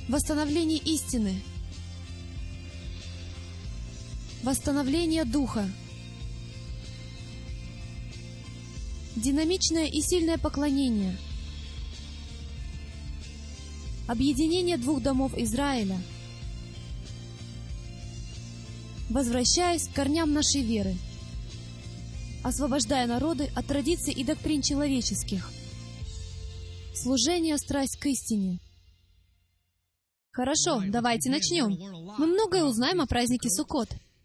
Восстановление истины. Восстановление духа. Динамичное и сильное поклонение. Объединение двух домов Израиля. Возвращаясь к корням нашей веры, освобождая народы от традиций и доктрин человеческих. Служение, страсть к истине. Хорошо, давайте начнем. Мы многое узнаем о празднике Суккот,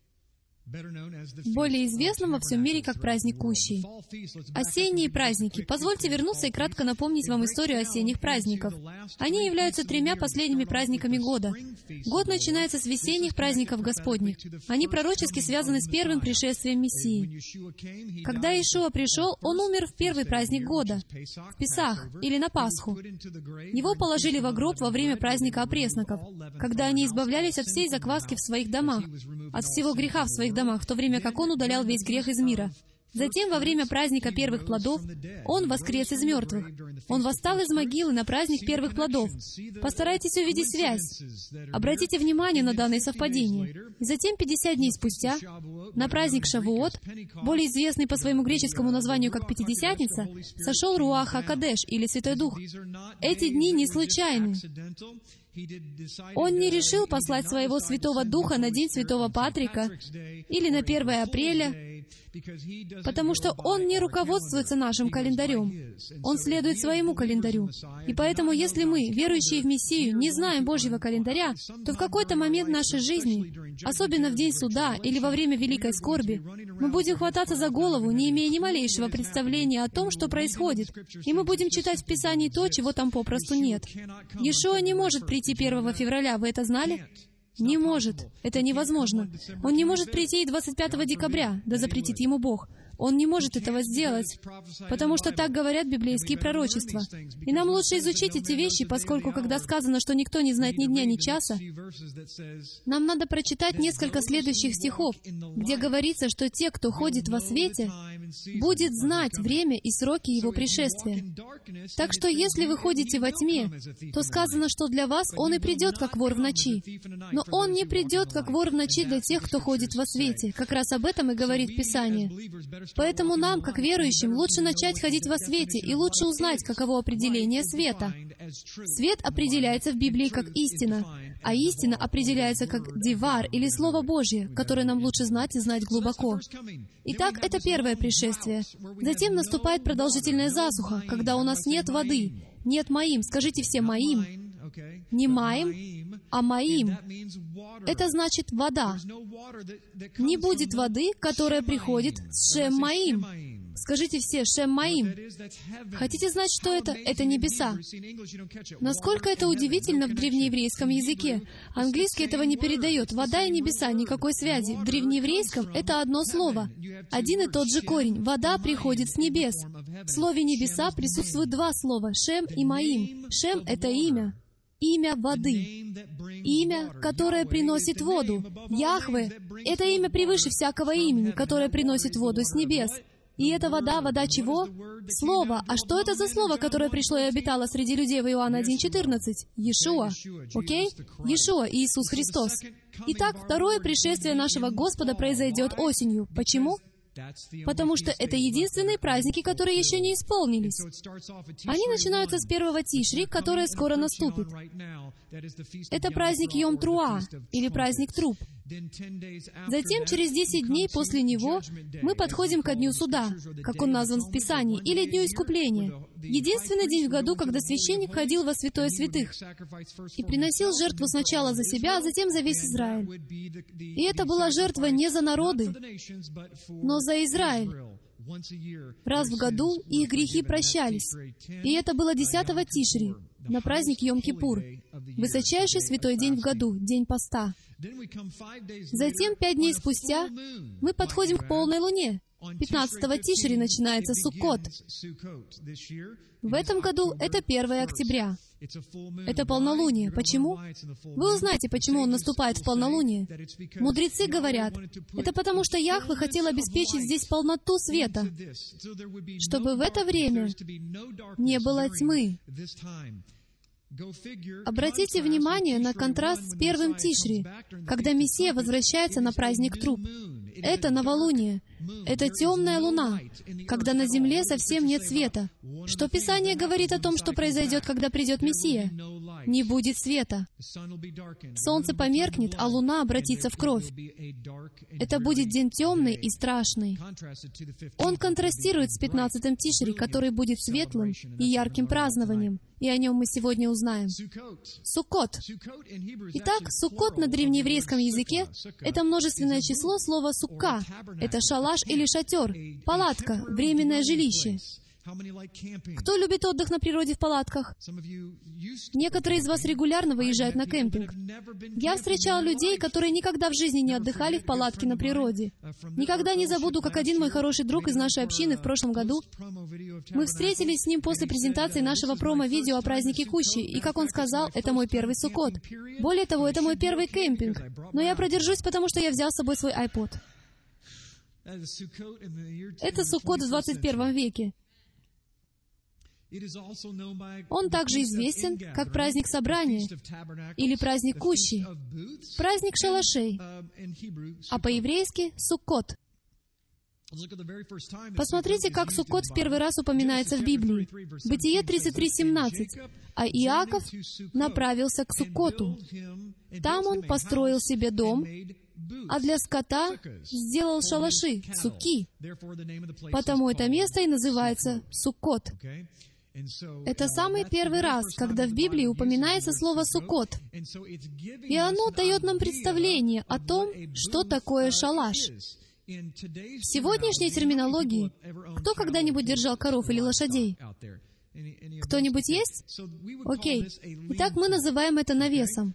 более известном во всем мире как праздник Кущей. Осенние праздники. Позвольте вернуться и кратко напомнить вам историю осенних праздников. Они являются тремя последними праздниками года. Год начинается с весенних праздников Господних. Они пророчески связаны с первым пришествием Мессии. Когда Иешуа пришел, Он умер в первый праздник года, в Песах, или на Пасху. Его положили во гроб во время праздника опресноков, когда они избавлялись от всей закваски в своих домах, от всего греха в своих домах, в то время как Он удалял весь грех из мира. Затем, во время праздника первых плодов, Он воскрес из мертвых. Он восстал из могилы на праздник первых плодов. Постарайтесь увидеть связь. Обратите внимание на данное совпадение. И затем, 50 дней спустя, на праздник Шавуот, более известный по своему греческому названию как Пятидесятница, сошел Руах ХаКодеш, или Святой Дух. Эти дни не случайны. Он не решил послать Своего Святого Духа на День Святого Патрика или на 1 апреля, потому что Он не руководствуется нашим календарем. Он следует своему календарю. И поэтому, если мы, верующие в Мессию, не знаем Божьего календаря, то в какой-то момент нашей жизни, особенно в день суда или во время великой скорби, мы будем хвататься за голову, не имея ни малейшего представления о том, что происходит, и мы будем читать в Писании то, чего там попросту нет. Иешуа не может прийти 1 февраля, вы это знали? Не может. Это невозможно. Он не может прийти и 25 декабря, да запретит ему Бог. Он не может этого сделать, потому что так говорят библейские пророчества. И нам лучше изучить эти вещи, поскольку, когда сказано, что никто не знает ни дня, ни часа, нам надо прочитать несколько следующих стихов, где говорится, что те, кто ходит во свете, будет знать время и сроки Его пришествия. Так что, если вы ходите во тьме, то сказано, что для вас Он и придет, как вор в ночи. Но Он не придет, как вор в ночи для тех, кто ходит во свете. Как раз об этом и говорит Писание. Поэтому нам, как верующим, лучше начать ходить во свете и лучше узнать, каково определение света. Свет определяется в Библии как истина, а истина определяется как дивар, или Слово Божье, которое нам лучше знать и знать глубоко. Итак, это первое пришествие. Затем наступает продолжительная засуха, когда у нас нет воды, нет маим. Скажите все «маим». Не «маим», а «маим». Это значит «вода». Не будет воды, которая приходит с Шем-маим. Скажите все «Шем-маим». Хотите знать, что это? Это небеса. Насколько это удивительно в древнееврейском языке. Английский этого не передает. Вода и небеса, никакой связи. В древнееврейском это одно слово. Один и тот же корень. Вода приходит с небес. В слове «небеса» присутствуют два слова «Шем» и «маим». «Шем» — это имя. Имя воды. Имя, которое приносит воду. Яхве — это имя превыше всякого имени, которое приносит воду с небес. И эта вода, вода чего? Слово. А что это за слово, которое пришло и обитало среди людей в Иоанна 1:14? Иешуа. Окей? Иешуа, Иисус Христос. Итак, второе пришествие нашего Господа произойдет осенью. Почему? Потому что это единственные праздники, которые еще не исполнились. Они начинаются с 1 Тишри, которое скоро наступит. Это праздник Йом-Труа, или праздник Труб. Затем, через 10 дней после него, мы подходим ко Дню Суда, как он назван в Писании, или Дню Искупления. Единственный день в году, когда священник ходил во святое святых и приносил жертву сначала за себя, а затем за весь Израиль. И это была жертва не за народы, но за Израиль. Раз в году их грехи прощались. И это было 10 Тишри, на праздник Йом-Кипур, высочайший святой день в году, день поста. Затем, 5 дней спустя, мы подходим к полной луне. 15 Тишри начинается Суккот. В этом году это 1 октября. Это полнолуние. Почему? Вы узнаете, почему он наступает в полнолуние. Мудрецы говорят, это потому что Яхве хотел обеспечить здесь полноту света, чтобы в это время не было тьмы. Обратите внимание на контраст с первым Тишри, когда Мессия возвращается на праздник труб. Это новолуние. Это темная луна, когда на земле совсем нет света. Что Писание говорит о том, что произойдет, когда придет Мессия? Не будет света. Солнце померкнет, а луна обратится в кровь. Это будет день темный и страшный. Он контрастирует с 15-м Тишри, который будет светлым и ярким празднованием. И о нем мы сегодня узнаем. Суккот. Итак, Суккот на древнееврейском языке — это множественное число слова «сукка». Это шалаш или шатер, палатка, временное жилище. Кто любит отдых на природе в палатках? Некоторые из вас регулярно выезжают на кемпинг. Я встречал людей, которые никогда в жизни не отдыхали в палатке на природе. Никогда не забуду, как один мой хороший друг из нашей общины в прошлом году, мы встретились с ним после презентации нашего промо-видео о празднике Кущи, и, как он сказал, это мой первый Суккот. Более того, это мой первый кемпинг. Но я продержусь, потому что я взял с собой свой iPod. Это Суккот в 21 веке. Он также известен как праздник собрания или праздник Кущи, праздник шалашей, а по-еврейски — Суккот. Посмотрите, как Суккот в первый раз упоминается в Библии. Бытие 33:17. А Иаков направился к Суккоту. Там он построил себе дом, а для скота сделал шалаши, суки. Потому это место и называется Суккот. Это самый первый раз, когда в Библии упоминается слово «суккот». И оно дает нам представление о том, что такое шалаш. В сегодняшней терминологии кто когда-нибудь держал коров или лошадей? Кто-нибудь есть? Окей. Итак, мы называем это навесом.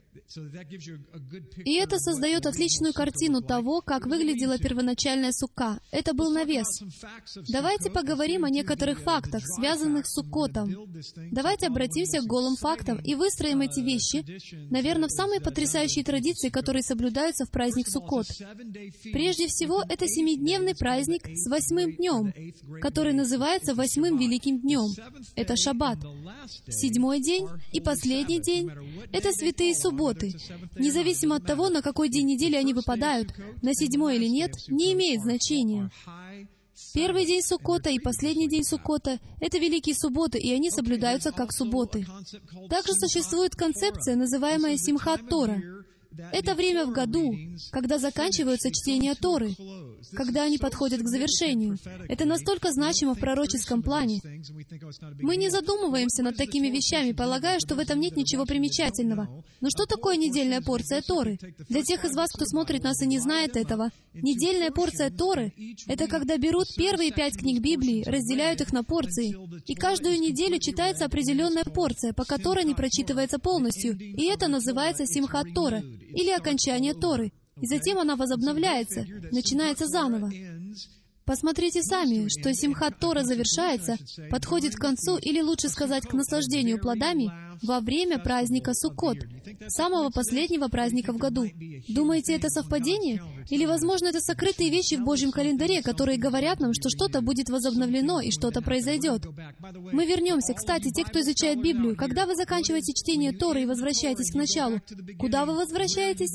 И это создает отличную картину того, как выглядела первоначальная сукка. Это был навес. Давайте поговорим о некоторых фактах, связанных с Суккотом. Давайте обратимся к голым фактам и выстроим эти вещи, наверное, в самые потрясающие традиции, которые соблюдаются в праздник Суккот. Прежде всего, это 7-дневный праздник с 8-м днем, который называется 8-м Великим днем. Это Шаббат. 7-й день и последний день — это святые субботы. Независимо от того, на какой день недели они выпадают, на 7-й или нет, не имеет значения. Первый день Суккота и последний день Суккота — это великие субботы, и они соблюдаются как субботы. Также существует концепция, называемая Симхат Тора. Это время в году, когда заканчиваются чтения Торы, когда они подходят к завершению. Это настолько значимо в пророческом плане. Мы не задумываемся над такими вещами, полагая, что в этом нет ничего примечательного. Но что такое недельная порция Торы? Для тех из вас, кто смотрит нас и не знает этого, недельная порция Торы — это когда берут первые 5 книг Библии, разделяют их на порции, и каждую неделю читается определенная порция, по которой не прочитывается полностью, и это называется Симхат Тора, или окончание Торы. И затем она возобновляется, начинается заново. Посмотрите сами, что Симхат Тора завершается, подходит к концу, или лучше сказать, к наслаждению плодами, во время праздника Суккот, самого последнего праздника в году. Думаете, это совпадение? Или, возможно, это сокрытые вещи в Божьем календаре, которые говорят нам, что что-то будет возобновлено и что-то произойдет? Мы вернемся. Кстати, те, кто изучает Библию, когда вы заканчиваете чтение Торы и возвращаетесь к началу, куда вы возвращаетесь?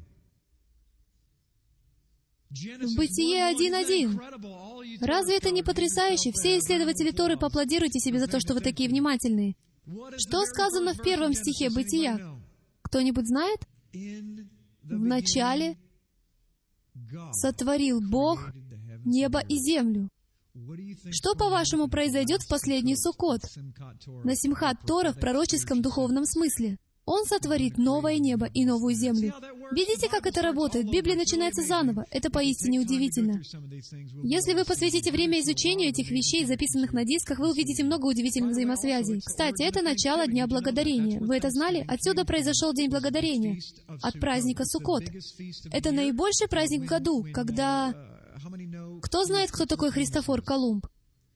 В Бытие 1:1. Разве это не потрясающе? Все исследователи Торы, поаплодируйте себе за то, что вы такие внимательные. Что сказано в 1 стихе Бытия? Кто-нибудь знает? В начале сотворил Бог небо и землю. Что, по-вашему, произойдет в последний Суккот? На Симхат Тора в пророческом духовном смысле. Он сотворит новое небо и новую землю. Видите, как это работает? Библия начинается заново. Это поистине удивительно. Если вы посвятите время изучению этих вещей, записанных на дисках, вы увидите много удивительных взаимосвязей. Кстати, это начало Дня Благодарения. Вы это знали? Отсюда произошел День Благодарения. От праздника Суккот. Это наибольший праздник в году, когда... Кто знает, кто такой Христофор Колумб?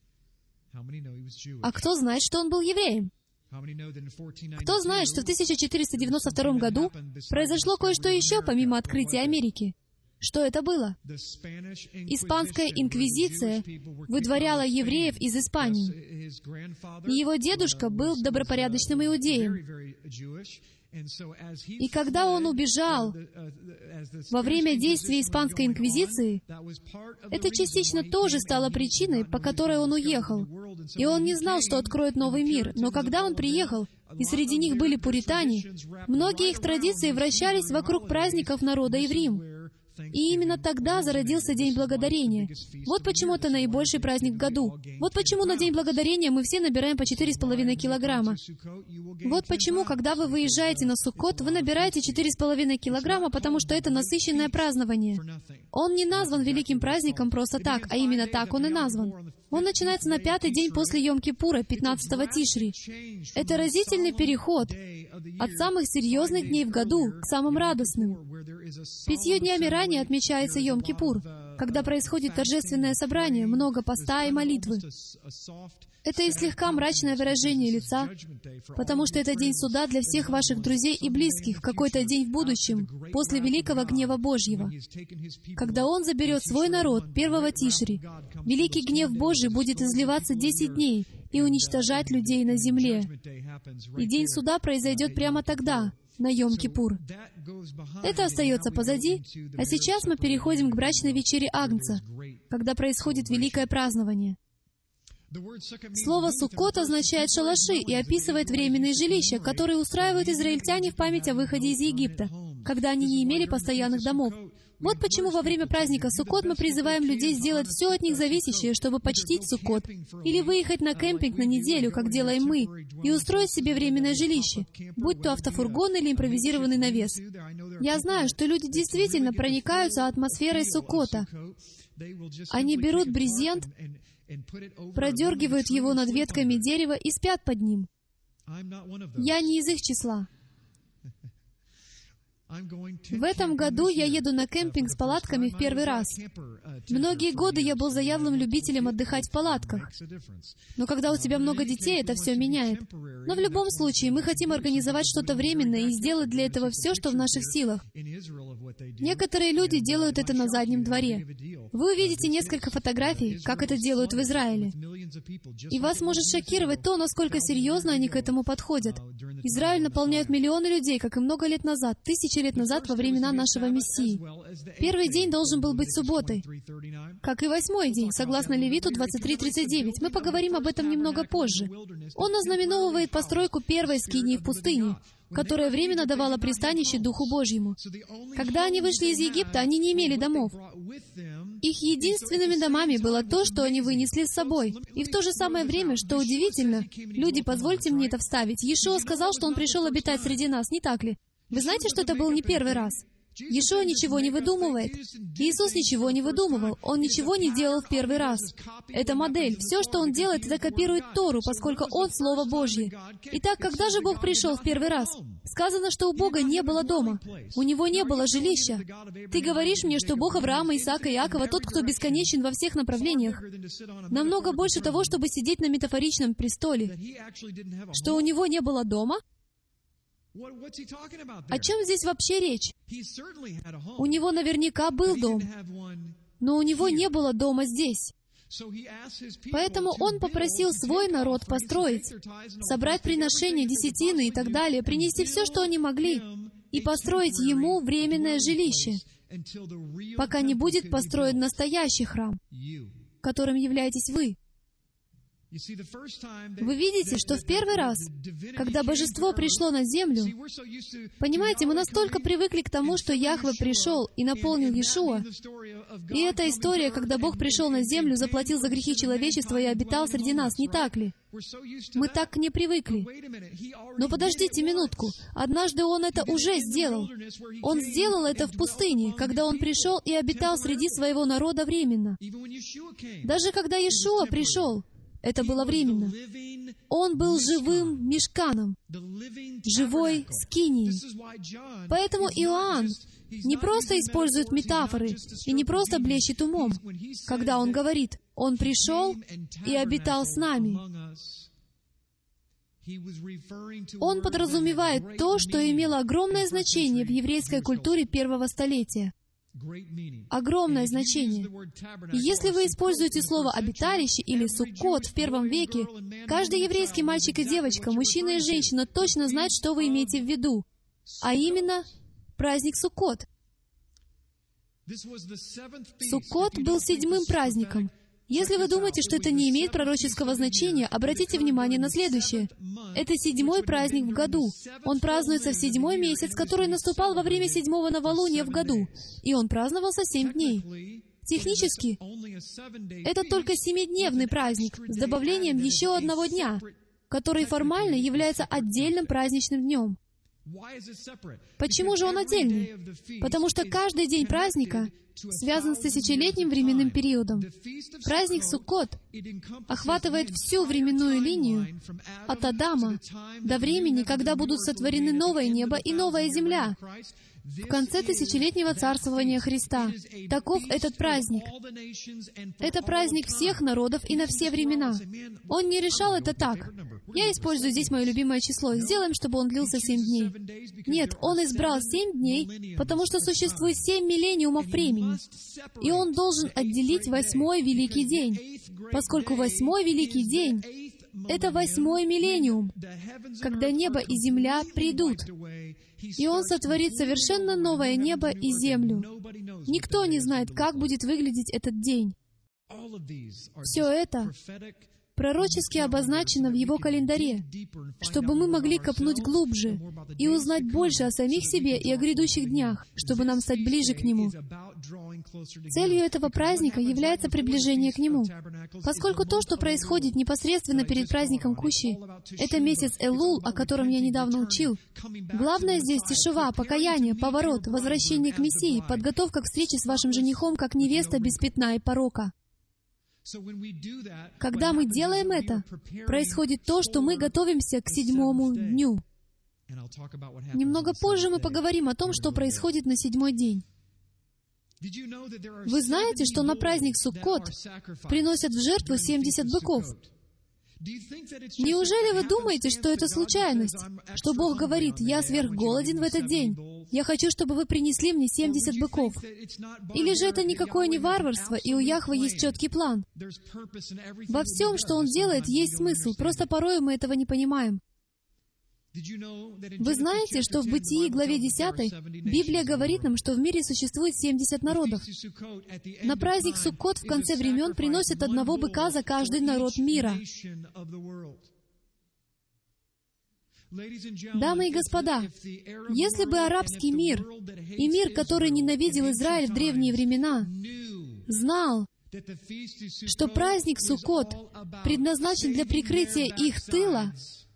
А кто знает, что он был евреем? Кто знает, что в 1492 году произошло кое-что еще, помимо открытия Америки? Что это было? Испанская инквизиция выдворяла евреев из Испании. И его дедушка был добропорядочным иудеем. И когда он убежал во время действия Испанской инквизиции, это частично тоже стало причиной, по которой он уехал. И он не знал, что откроет новый мир. Но когда он приехал, и среди них были пуритане, многие их традиции вращались вокруг праздников народа Еврим. И именно тогда зародился День Благодарения. Вот почему это наибольший праздник в году. Вот почему на День Благодарения мы все набираем по 4,5 килограмма. Вот почему, когда вы выезжаете на Суккот, вы набираете 4,5 килограмма, потому что это насыщенное празднование. Он не назван великим праздником просто так, а именно так он и назван. Он начинается на 5-й день после Йом-Кипура, 15-го Тишри. Это разительный переход от самых серьезных дней в году к самым радостным. 5 днями ранее отмечается Йом-Кипур, когда происходит торжественное собрание, много поста и молитвы. Это и слегка мрачное выражение лица, потому что это день суда для всех ваших друзей и близких в какой-то день в будущем, после великого гнева Божьего. Когда Он заберет свой народ 1-го Тишри, великий гнев Божий будет изливаться 10 дней и уничтожать людей на земле. И день суда произойдет прямо тогда, на Йом-Кипур. Это остается позади, а сейчас мы переходим к брачной вечере Агнца, когда происходит великое празднование. Слово «суккот» означает «шалаши» и описывает временные жилища, которые устраивают израильтяне в память о выходе из Египта, когда они не имели постоянных домов. Вот почему во время праздника Суккот мы призываем людей сделать все от них зависящее, чтобы почтить Суккот, или выехать на кемпинг на неделю, как делаем мы, и устроить себе временное жилище, будь то автофургон или импровизированный навес. Я знаю, что люди действительно проникаются атмосферой Суккота. Они берут брезент, продергивают его над ветками дерева и спят под ним. Я не из их числа. В этом году я еду на кемпинг с палатками в первый раз. Многие годы я был заядлым любителем отдыхать в палатках. Но когда у тебя много детей, это все меняет. Но в любом случае, мы хотим организовать что-то временное и сделать для этого все, что в наших силах. Некоторые люди делают это на заднем дворе. Вы увидите несколько фотографий, как это делают в Израиле. И вас может шокировать то, насколько серьезно они к этому подходят. Израиль наполняют миллионы людей, как и много лет назад, тысячи лет назад во времена нашего Мессии. Первый день должен был быть субботой, как и 8-й день, согласно Левиту 23:39. Мы поговорим об этом немного позже. Он ознаменовывает постройку первой скинии в пустыне, которая временно давала пристанище Духу Божьему. Когда они вышли из Египта, они не имели домов. Их единственными домами было то, что они вынесли с собой. И в то же самое время, что удивительно, люди, позвольте мне это вставить, Иешуа сказал, что Он пришел обитать среди нас, не так ли? Вы знаете, что это был не первый раз? Иешуа ничего не выдумывает. Иисус ничего не выдумывал. Он ничего не делал в первый раз. Это модель. Все, что Он делает, это копирует Тору, поскольку Он Слово Божье. Итак, когда же Бог пришел в первый раз? Сказано, что у Бога не было дома. У Него не было жилища. Ты говоришь мне, что Бог Авраама, Исаака и Иакова, тот, кто бесконечен во всех направлениях, намного больше того, чтобы сидеть на метафоричном престоле, что у Него не было дома? О чем здесь вообще речь? У него наверняка был дом, но у него не было дома здесь. Поэтому он попросил свой народ построить, собрать приношения, десятины и так далее, принести все, что они могли, и построить ему временное жилище, пока не будет построен настоящий храм, которым являетесь вы. Вы видите, что в первый раз, когда божество пришло на землю, понимаете, мы настолько привыкли к тому, что Яхве пришел и наполнил Иешуа, и эта история, когда Бог пришел на землю, заплатил за грехи человечества и обитал среди нас, не так ли? Мы так к ней привыкли. Но подождите минутку. Однажды Он это уже сделал. Он сделал это в пустыне, когда Он пришел и обитал среди своего народа временно. Даже когда Иешуа пришел, это было временно. Он был живым мишканом, живой скинией. Поэтому Иоанн не просто использует метафоры и не просто блещет умом, когда он говорит, «Он пришел и обитал с нами». Он подразумевает то, что имело огромное значение в еврейской культуре первого столетия. Огромное значение. И если вы используете слово «обиталище» или «суккот» в первом веке, каждый еврейский мальчик и девочка, мужчина и женщина точно знает, что вы имеете в виду, а именно праздник Суккот. Суккот был 7-м праздником. Если вы думаете, что это не имеет пророческого значения, обратите внимание на следующее. Это 7-й праздник в году. Он празднуется в 7-й месяц, который наступал во время 7-го новолуния в году. И он праздновался 7 дней. Технически, это только 7-дневный праздник с добавлением еще одного дня, который формально является отдельным праздничным днем. Почему же он отдельный? Потому что каждый день праздника связан с тысячелетним временным периодом. Праздник Суккот охватывает всю временную линию от Адама до времени, когда будут сотворены новое небо и новая земля, в конце тысячелетнего царствования Христа. Таков этот праздник. Это праздник всех народов и на все времена. Он не решал это так. Я использую здесь мое любимое число. Сделаем, чтобы он длился 7 дней. Нет, он избрал 7 дней, потому что существует 7 миллениумов времени. И он должен отделить 8-й великий день, поскольку 8-й великий день — это 8-й миллениум, когда небо и земля придут. И Он сотворит совершенно новое небо и землю. Никто не знает, как будет выглядеть этот день. Все это пророчески обозначено в Его календаре, чтобы мы могли копнуть глубже и узнать больше о самих себе и о грядущих днях, чтобы нам стать ближе к Нему. Целью этого праздника является приближение к Нему. Поскольку то, что происходит непосредственно перед праздником Кущи, это месяц Элул, о котором я недавно учил, главное здесь тишува, покаяние, поворот, возвращение к Мессии, подготовка к встрече с вашим женихом как невеста без пятна и порока. Когда мы делаем это, происходит то, что мы готовимся к 7-му дню. Немного позже мы поговорим о том, что происходит на 7-й день. Вы знаете, что на праздник Суккот приносят в жертву 70 быков? Неужели вы думаете, что это случайность? Что Бог говорит: «Я сверхголоден в этот день. Я хочу, чтобы вы принесли мне 70 быков». Или же это никакое не варварство, и у Яхве есть четкий план? Во всем, что Он делает, есть смысл, просто порой мы этого не понимаем. Вы знаете, что в Бытии, главе 10, Библия говорит нам, что в мире существует 70 народов. На праздник Суккот в конце времен приносят одного быка за каждый народ мира. Дамы и господа, если бы арабский мир и мир, который ненавидел Израиль в древние времена, знал, что праздник Суккот предназначен для прикрытия их тыла,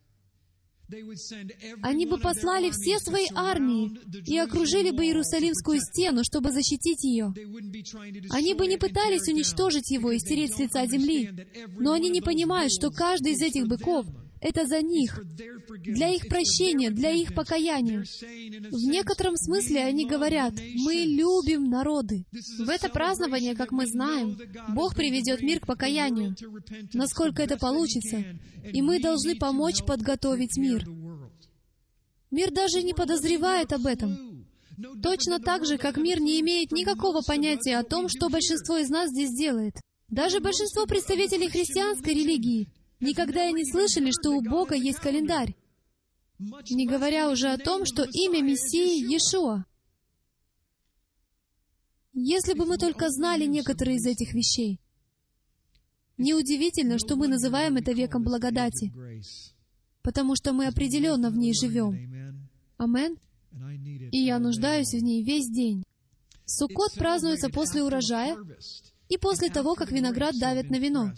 они бы послали все свои армии и окружили бы Иерусалимскую стену, чтобы защитить ее. Они бы не пытались уничтожить его и стереть с лица земли, но они не понимают, что каждый из этих быков — это за них, для их прощения, для их покаяния. В некотором смысле они говорят: «Мы любим народы». В это празднование, как мы знаем, Бог приведет мир к покаянию, насколько это получится, и мы должны помочь подготовить мир. Мир даже не подозревает об этом. Точно так же, как мир не имеет никакого понятия о том, что большинство из нас здесь делает. Даже большинство представителей христианской религии никогда и не слышали, что у Бога есть календарь, не говоря уже о том, что имя Мессии — Иешуа. Если бы мы только знали некоторые из этих вещей. Неудивительно, что мы называем это веком благодати, потому что мы определенно в ней живем. Амен? И я нуждаюсь в ней весь день. Суккот празднуется после урожая и после того, как виноград давят на вино.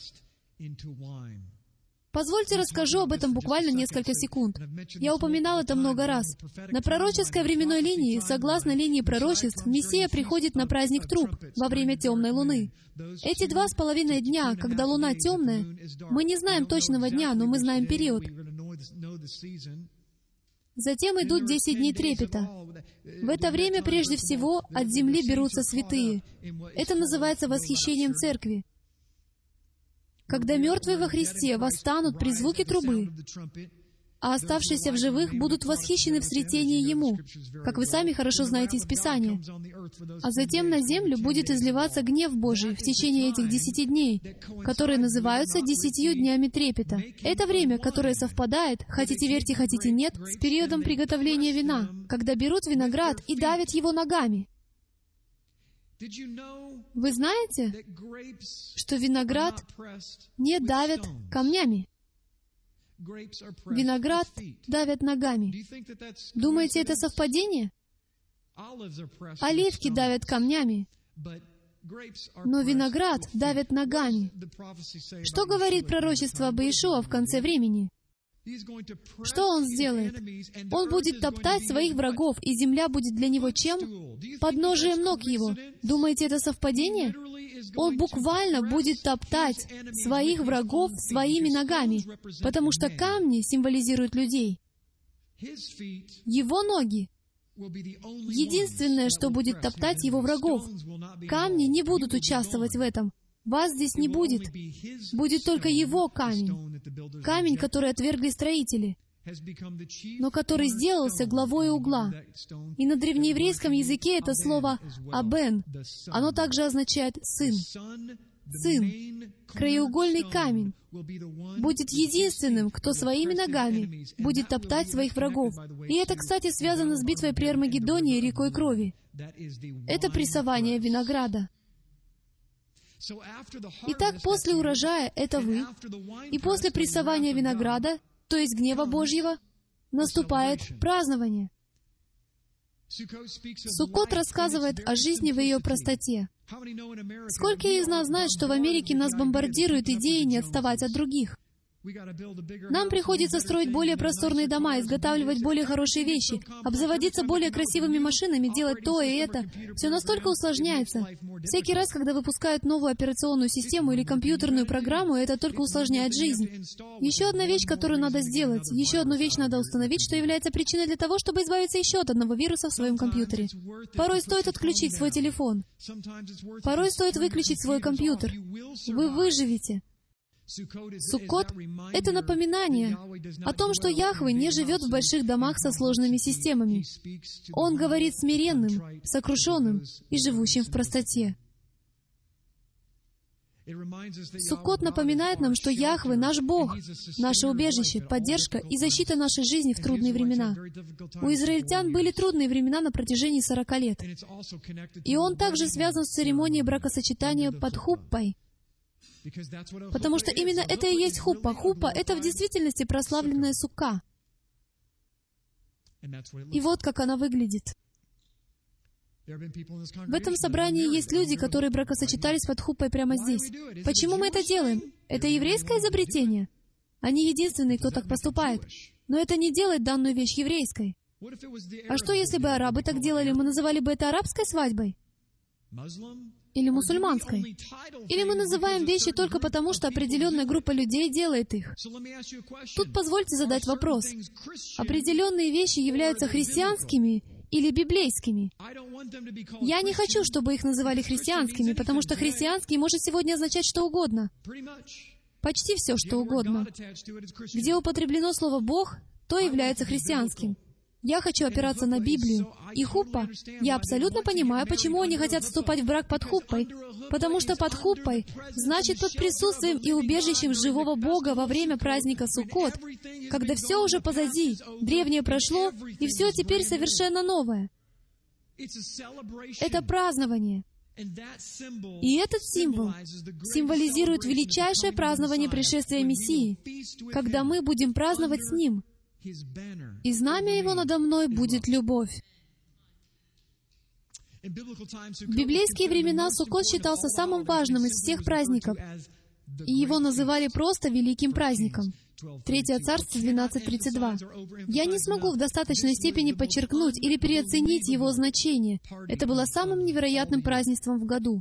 Позвольте расскажу об этом буквально несколько секунд. Я упоминал это много раз. На пророческой временной линии, согласно линии пророчеств, Мессия приходит на праздник труб во время темной луны. Эти 2,5 дня, когда луна темная, мы не знаем точного дня, но мы знаем период. Затем идут 10 дней трепета. В это время, прежде всего, от земли берутся святые. Это называется восхищением церкви. Когда мертвые во Христе восстанут при звуке трубы, а оставшиеся в живых будут восхищены в сретении Ему, как вы сами хорошо знаете из Писания. А затем на землю будет изливаться гнев Божий в течение этих 10 дней, которые называются 10 днями трепета. Это время, которое совпадает, хотите верьте, хотите нет, с периодом приготовления вина, когда берут виноград и давят его ногами. Вы знаете, что виноград не давят камнями? Виноград давят ногами. Думаете, это совпадение? Оливки давят камнями, но виноград давят ногами. Что говорит пророчество об Иешуа в конце времени? Что Он сделает? Он будет топтать своих врагов, и земля будет для Него чем? Подножием ног Его. Думаете, это совпадение? Он буквально будет топтать своих врагов своими ногами, потому что камни символизируют людей. Его ноги — единственное, что будет топтать Его врагов. Камни не будут участвовать в этом. Вас здесь не будет. Будет только Его камень. Камень, который отвергли строители, но который сделался главой угла. И на древнееврейском языке это слово «абен». Оно также означает «сын». Сын, краеугольный камень, будет единственным, кто своими ногами будет топтать своих врагов. И это, кстати, связано с битвой при Армагеддоне и рекой крови. Это прессование винограда. Итак, после урожая — это вы, и после прессования винограда, то есть гнева Божьего, наступает празднование. Суккот рассказывает о жизни в ее простоте. Сколько из нас знают, что в Америке нас бомбардируют идеей не отставать от других? Нам приходится строить более просторные дома, изготавливать более хорошие вещи, обзаводиться более красивыми машинами, делать то и это. Все настолько усложняется. Всякий раз, когда выпускают новую операционную систему или компьютерную программу, это только усложняет жизнь. Еще одна вещь, которую надо сделать, еще одну вещь надо установить, что является причиной для того, чтобы избавиться еще от одного вируса в своем компьютере. Порой стоит отключить свой телефон. Порой стоит выключить свой компьютер. Вы выживете. Суккот — это напоминание о том, что Яхве не живет в больших домах со сложными системами. Он говорит смиренным, сокрушенным и живущим в простоте. Суккот напоминает нам, что Яхве — наш Бог, наше убежище, поддержка и защита нашей жизни в трудные времена. У израильтян были трудные времена на протяжении 40 лет. И он также связан с церемонией бракосочетания под хуппой, потому что именно это и есть хуппа. Хуппа — это в действительности прославленная сукка. И вот как она выглядит. В этом собрании есть люди, которые бракосочетались под хуппой прямо здесь. Почему мы это делаем? Это еврейское изобретение? Они единственные, кто так поступает. Но это не делает данную вещь еврейской. А что, если бы арабы так делали? Мы называли бы это арабской свадьбой? Или мусульманской? Или мы называем вещи только потому, что определенная группа людей делает их? Тут позвольте задать вопрос. Определенные вещи являются христианскими или библейскими? Я не хочу, чтобы их называли христианскими, потому что христианский может сегодня означать что угодно. Почти все, что угодно. Где употреблено слово «Бог», то является христианским. Я хочу опираться на Библию. И хуппа, я абсолютно понимаю, почему они хотят вступать в брак под хуппой. Потому что под хуппой значит под присутствием и убежищем живого Бога во время праздника Суккот, когда все уже позади, древнее прошло, и все теперь совершенно новое. Это празднование. И этот символ символизирует величайшее празднование пришествия Мессии, когда мы будем праздновать с Ним. И знамя Его надо мной будет любовь. В библейские времена Суккот считался самым важным из всех праздников, и его называли просто Великим праздником. 3 Царств 12:32. Я не смогу в достаточной степени подчеркнуть или переоценить его значение. Это было самым невероятным празднеством в году.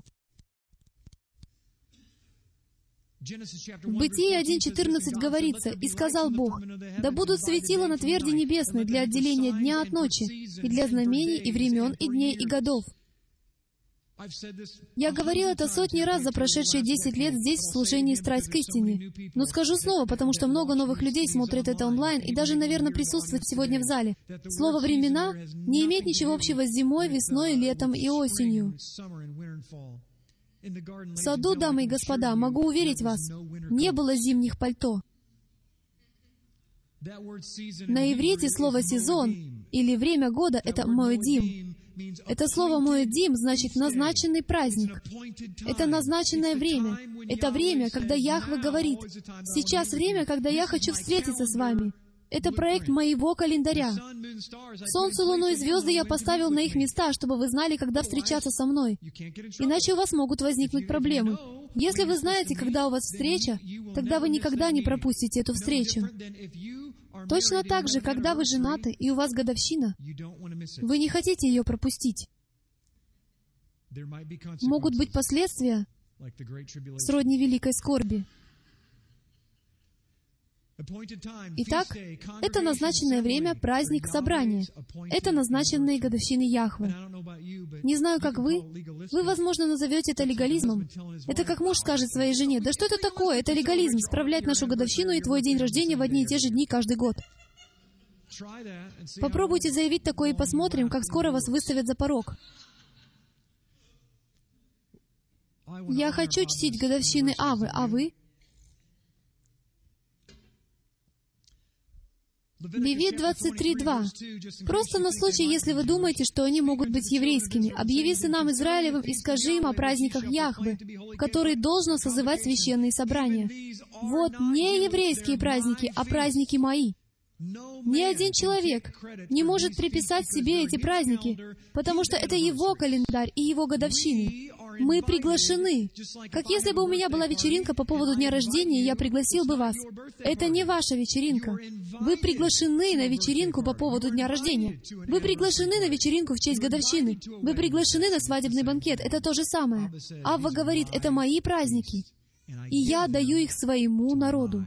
В Бытие 1:14 говорится: «И сказал Бог, да будут светила на тверди небесной для отделения дня от ночи, и для знамений, и времен, и дней, и годов». Я говорил это сотни раз за прошедшие 10 лет здесь, в служении «Страсть к истине». Но скажу снова, потому что много новых людей смотрят это онлайн и даже, наверное, присутствуют сегодня в зале. Слово «времена» не имеет ничего общего с зимой, весной, летом и осенью. В саду, дамы и господа, могу уверить вас, не было зимних пальто. На иврите слово «сезон» или «время года» — это «моэдим». Это слово «моэдим» значит «назначенный праздник». Это назначенное время. Это время, когда Яхве говорит: «Сейчас время, когда я хочу встретиться с вами». Это проект моего календаря. Солнце, луну и звезды я поставил на их места, чтобы вы знали, когда встречаться со мной. Иначе у вас могут возникнуть проблемы. Если вы знаете, когда у вас встреча, тогда вы никогда не пропустите эту встречу. Точно так же, когда вы женаты и у вас годовщина, вы не хотите ее пропустить. Могут быть последствия, сродни великой скорби. Итак, это назначенное время, праздник, собрание. Это назначенные годовщины Яхве. Не знаю, как вы возможно, назовете это легализмом. Это как муж скажет своей жене: «Да что это такое? Это легализм, справлять нашу годовщину и твой день рождения в одни и те же дни каждый год». Попробуйте заявить такое и посмотрим, как скоро вас выставят за порог. Я хочу чтить годовщины Авы, а вы? Левит 23:2. Просто на случай, если вы думаете, что они могут быть еврейскими, объяви сынам Израилевым и скажи им о праздниках Яхве, в которые должно созывать священные собрания. Вот не еврейские праздники, а праздники мои. Ни один человек не может приписать себе эти праздники, потому что это его календарь и его годовщины. Мы приглашены. Как если бы у меня была вечеринка по поводу дня рождения, я пригласил бы вас. Это не ваша вечеринка. Вы приглашены на вечеринку по поводу дня рождения. Вы приглашены на вечеринку в честь годовщины. Вы приглашены на свадебный банкет. Это то же самое. Авва говорит: это мои праздники, и я даю их своему народу.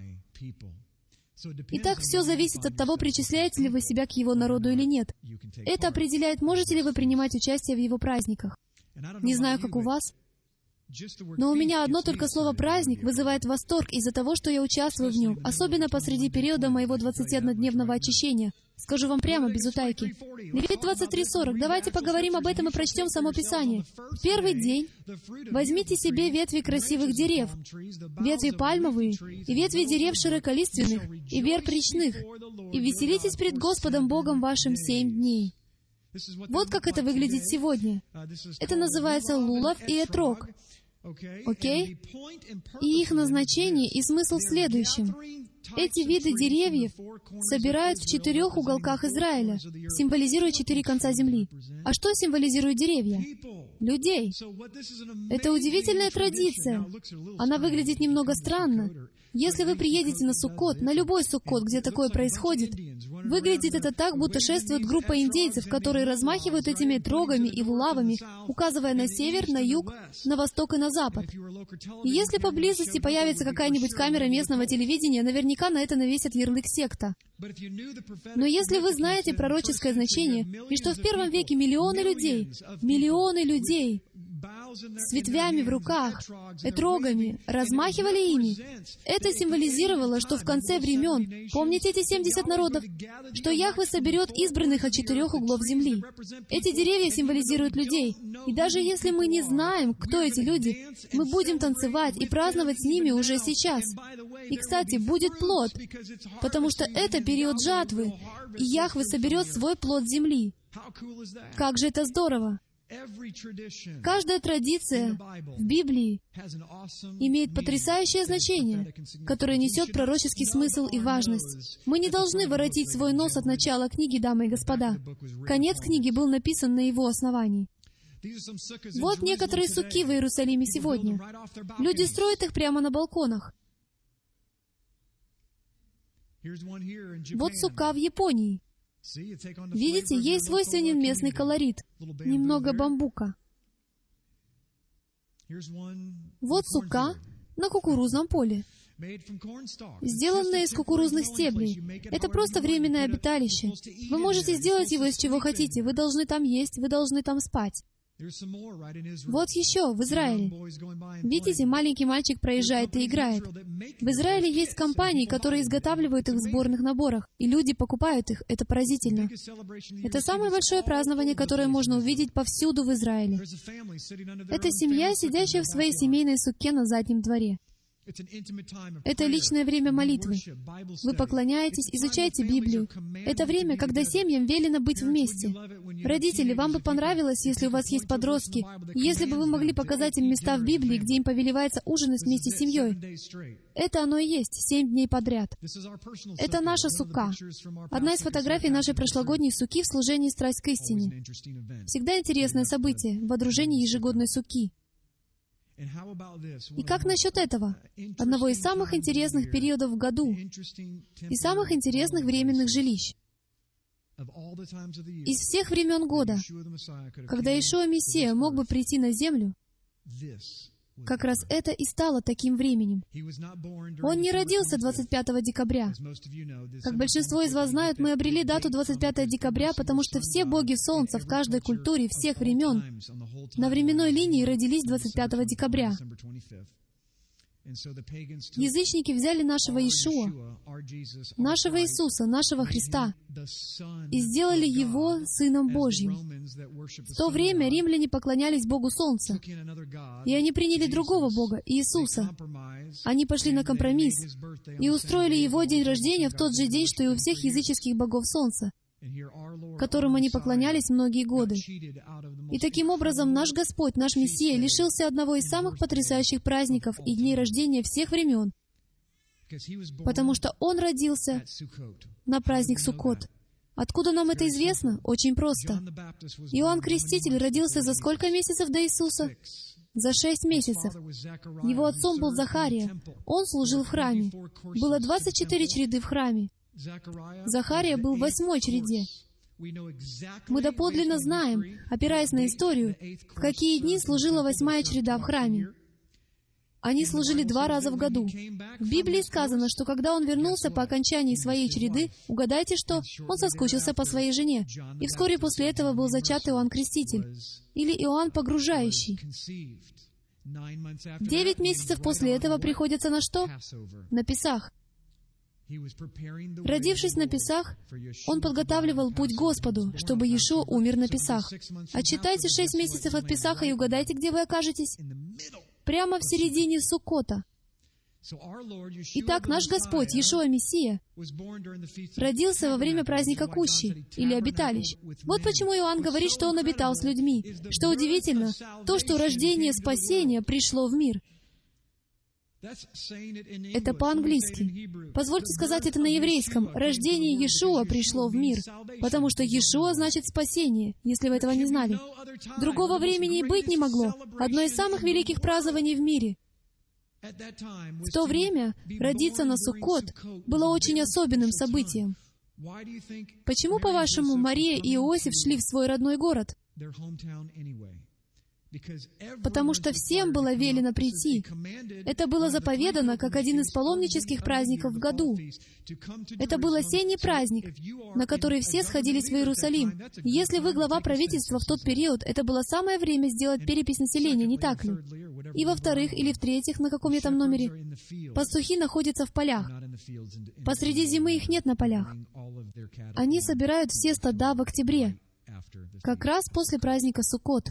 Итак, все зависит от того, причисляете ли вы себя к его народу или нет. Это определяет, можете ли вы принимать участие в его праздниках. Не знаю, как у вас, но у меня одно только слово «праздник» вызывает восторг из-за того, что я участвую в нем, особенно посреди периода моего 21-дневного очищения. Скажу вам прямо, без утайки. Левит 23:40. Давайте поговорим об этом и прочтем само Писание. В первый день возьмите себе ветви красивых дерев, ветви пальмовые, и ветви дерев широколиственных, и верб речных, и веселитесь пред Господом Богом вашим 7 дней. Вот как это выглядит сегодня. Это называется лулав и этрог. Окей? И их назначение и смысл в следующем. Эти виды деревьев собирают в 4 уголках Израиля, символизируя 4 конца земли. А что символизируют деревья? Людей. Это удивительная традиция. Она выглядит немного странно. Если вы приедете на Суккот, на любой Суккот, где такое происходит, выглядит это так, будто шествует группа индейцев, которые размахивают этими трогами и лулавами, указывая на север, на юг, на восток и на запад. И если поблизости появится какая-нибудь камера местного телевидения, наверняка на это навесят ярлык «секта». Но если вы знаете пророческое значение, и что в первом веке миллионы людей с ветвями в руках, этрогами, размахивали ими, это символизировало, что в конце времен, помните эти 70 народов, что Яхве соберет избранных от 4 углов земли. Эти деревья символизируют людей, и даже если мы не знаем, кто эти люди, мы будем танцевать и праздновать с ними уже сейчас. И, кстати, будет плод, потому что это период жатвы, и Яхве соберет свой плод земли. Как же это здорово! Каждая традиция в Библии имеет потрясающее значение, которое несет пророческий смысл и важность. Мы не должны воротить свой нос от начала книги, дамы и господа. Конец книги был написан на его основании. Вот некоторые суки в Иерусалиме сегодня. Люди строят их прямо на балконах. Вот сука в Японии. Видите, ей свойственен местный колорит. Немного бамбука. Вот сука на кукурузном поле, сделанная из кукурузных стеблей. Это просто временное обиталище. Вы можете сделать его из чего хотите. Вы должны там есть, вы должны там спать. Вот еще, в Израиле. Видите, маленький мальчик проезжает и играет. В Израиле есть компании, которые изготавливают их в сборных наборах, и люди покупают их. Это поразительно. Это самое большое празднование, которое можно увидеть повсюду в Израиле. Это семья, сидящая в своей семейной сукке на заднем дворе. Это личное время молитвы. Вы поклоняетесь, изучаете Библию. Это время, когда семьям велено быть вместе. Родители, вам бы понравилось, если у вас есть подростки, если бы вы могли показать им места в Библии, где им повелевается ужинать вместе с семьей. Это оно и есть, 7 дней подряд. Это наша сукка. Одна из фотографий нашей прошлогодней сукки в служении «Страсть к истине». Всегда интересное событие — водружение ежегодной сукки. И как насчет этого? Одного из самых интересных периодов в году и самых интересных временных жилищ. Из всех времен года, когда Иешуа Мессия мог бы прийти на землю, как раз это и стало таким временем. Он не родился 25 декабря. Как большинство из вас знают, мы обрели дату 25 декабря, потому что все боги Солнца в каждой культуре всех времен на временной линии родились 25 декабря. Язычники взяли нашего Иешуа, нашего Иисуса, нашего Христа, и сделали Его Сыном Божьим. В то время римляне поклонялись Богу Солнца, и они приняли другого Бога, Иисуса. Они пошли на компромисс и устроили Его день рождения в тот же день, что и у всех языческих богов Солнца, которым они поклонялись многие годы. И таким образом наш Господь, наш Мессия, лишился одного из самых потрясающих праздников и дней рождения всех времен, потому что Он родился на праздник Суккот. Откуда нам это известно? Очень просто. Иоанн Креститель родился за сколько месяцев до Иисуса? За 6 месяцев. Его отцом был Захария. Он служил в храме. Было 24 череды в храме. Захария был в 8-й череде. Мы доподлинно знаем, опираясь на историю, в какие дни служила 8-я череда в храме. Они служили 2 раза в году. В Библии сказано, что когда он вернулся по окончании своей череды, угадайте что, он соскучился по своей жене. И вскоре после этого был зачат Иоанн Креститель, или Иоанн Погружающий. 9 месяцев после этого приходится на что? На Песах. Родившись на Песах, он подготавливал путь Господу, чтобы Иешуа умер на Песах. Отсчитайте 6 месяцев от Песаха и угадайте, где вы окажетесь. Прямо в середине Суккота. Итак, наш Господь, Иешуа Мессия, родился во время праздника Кущи, или обиталищ. Вот почему Иоанн говорит, что Он обитал с людьми. Что удивительно, то, что рождение спасения пришло в мир. Это по-английски. Позвольте сказать это на еврейском. Рождение Иешуа пришло в мир, потому что Иешуа значит спасение, если вы этого не знали. Другого времени и быть не могло. Одно из самых великих празднований в мире. В то время родиться на Суккот было очень особенным событием. Почему, по-вашему, Мария и Иосиф шли в свой родной город? Потому что всем было велено прийти. Это было заповедано как один из паломнических праздников в году. Это был осенний праздник, на который все сходились в Иерусалим. И если вы глава правительства в тот период, это было самое время сделать перепись населения, не так ли? И во-вторых, или в-третьих, на каком я там номере, пастухи находятся в полях. Посреди зимы их нет на полях. Они собирают все стада в октябре, как раз после праздника Суккот.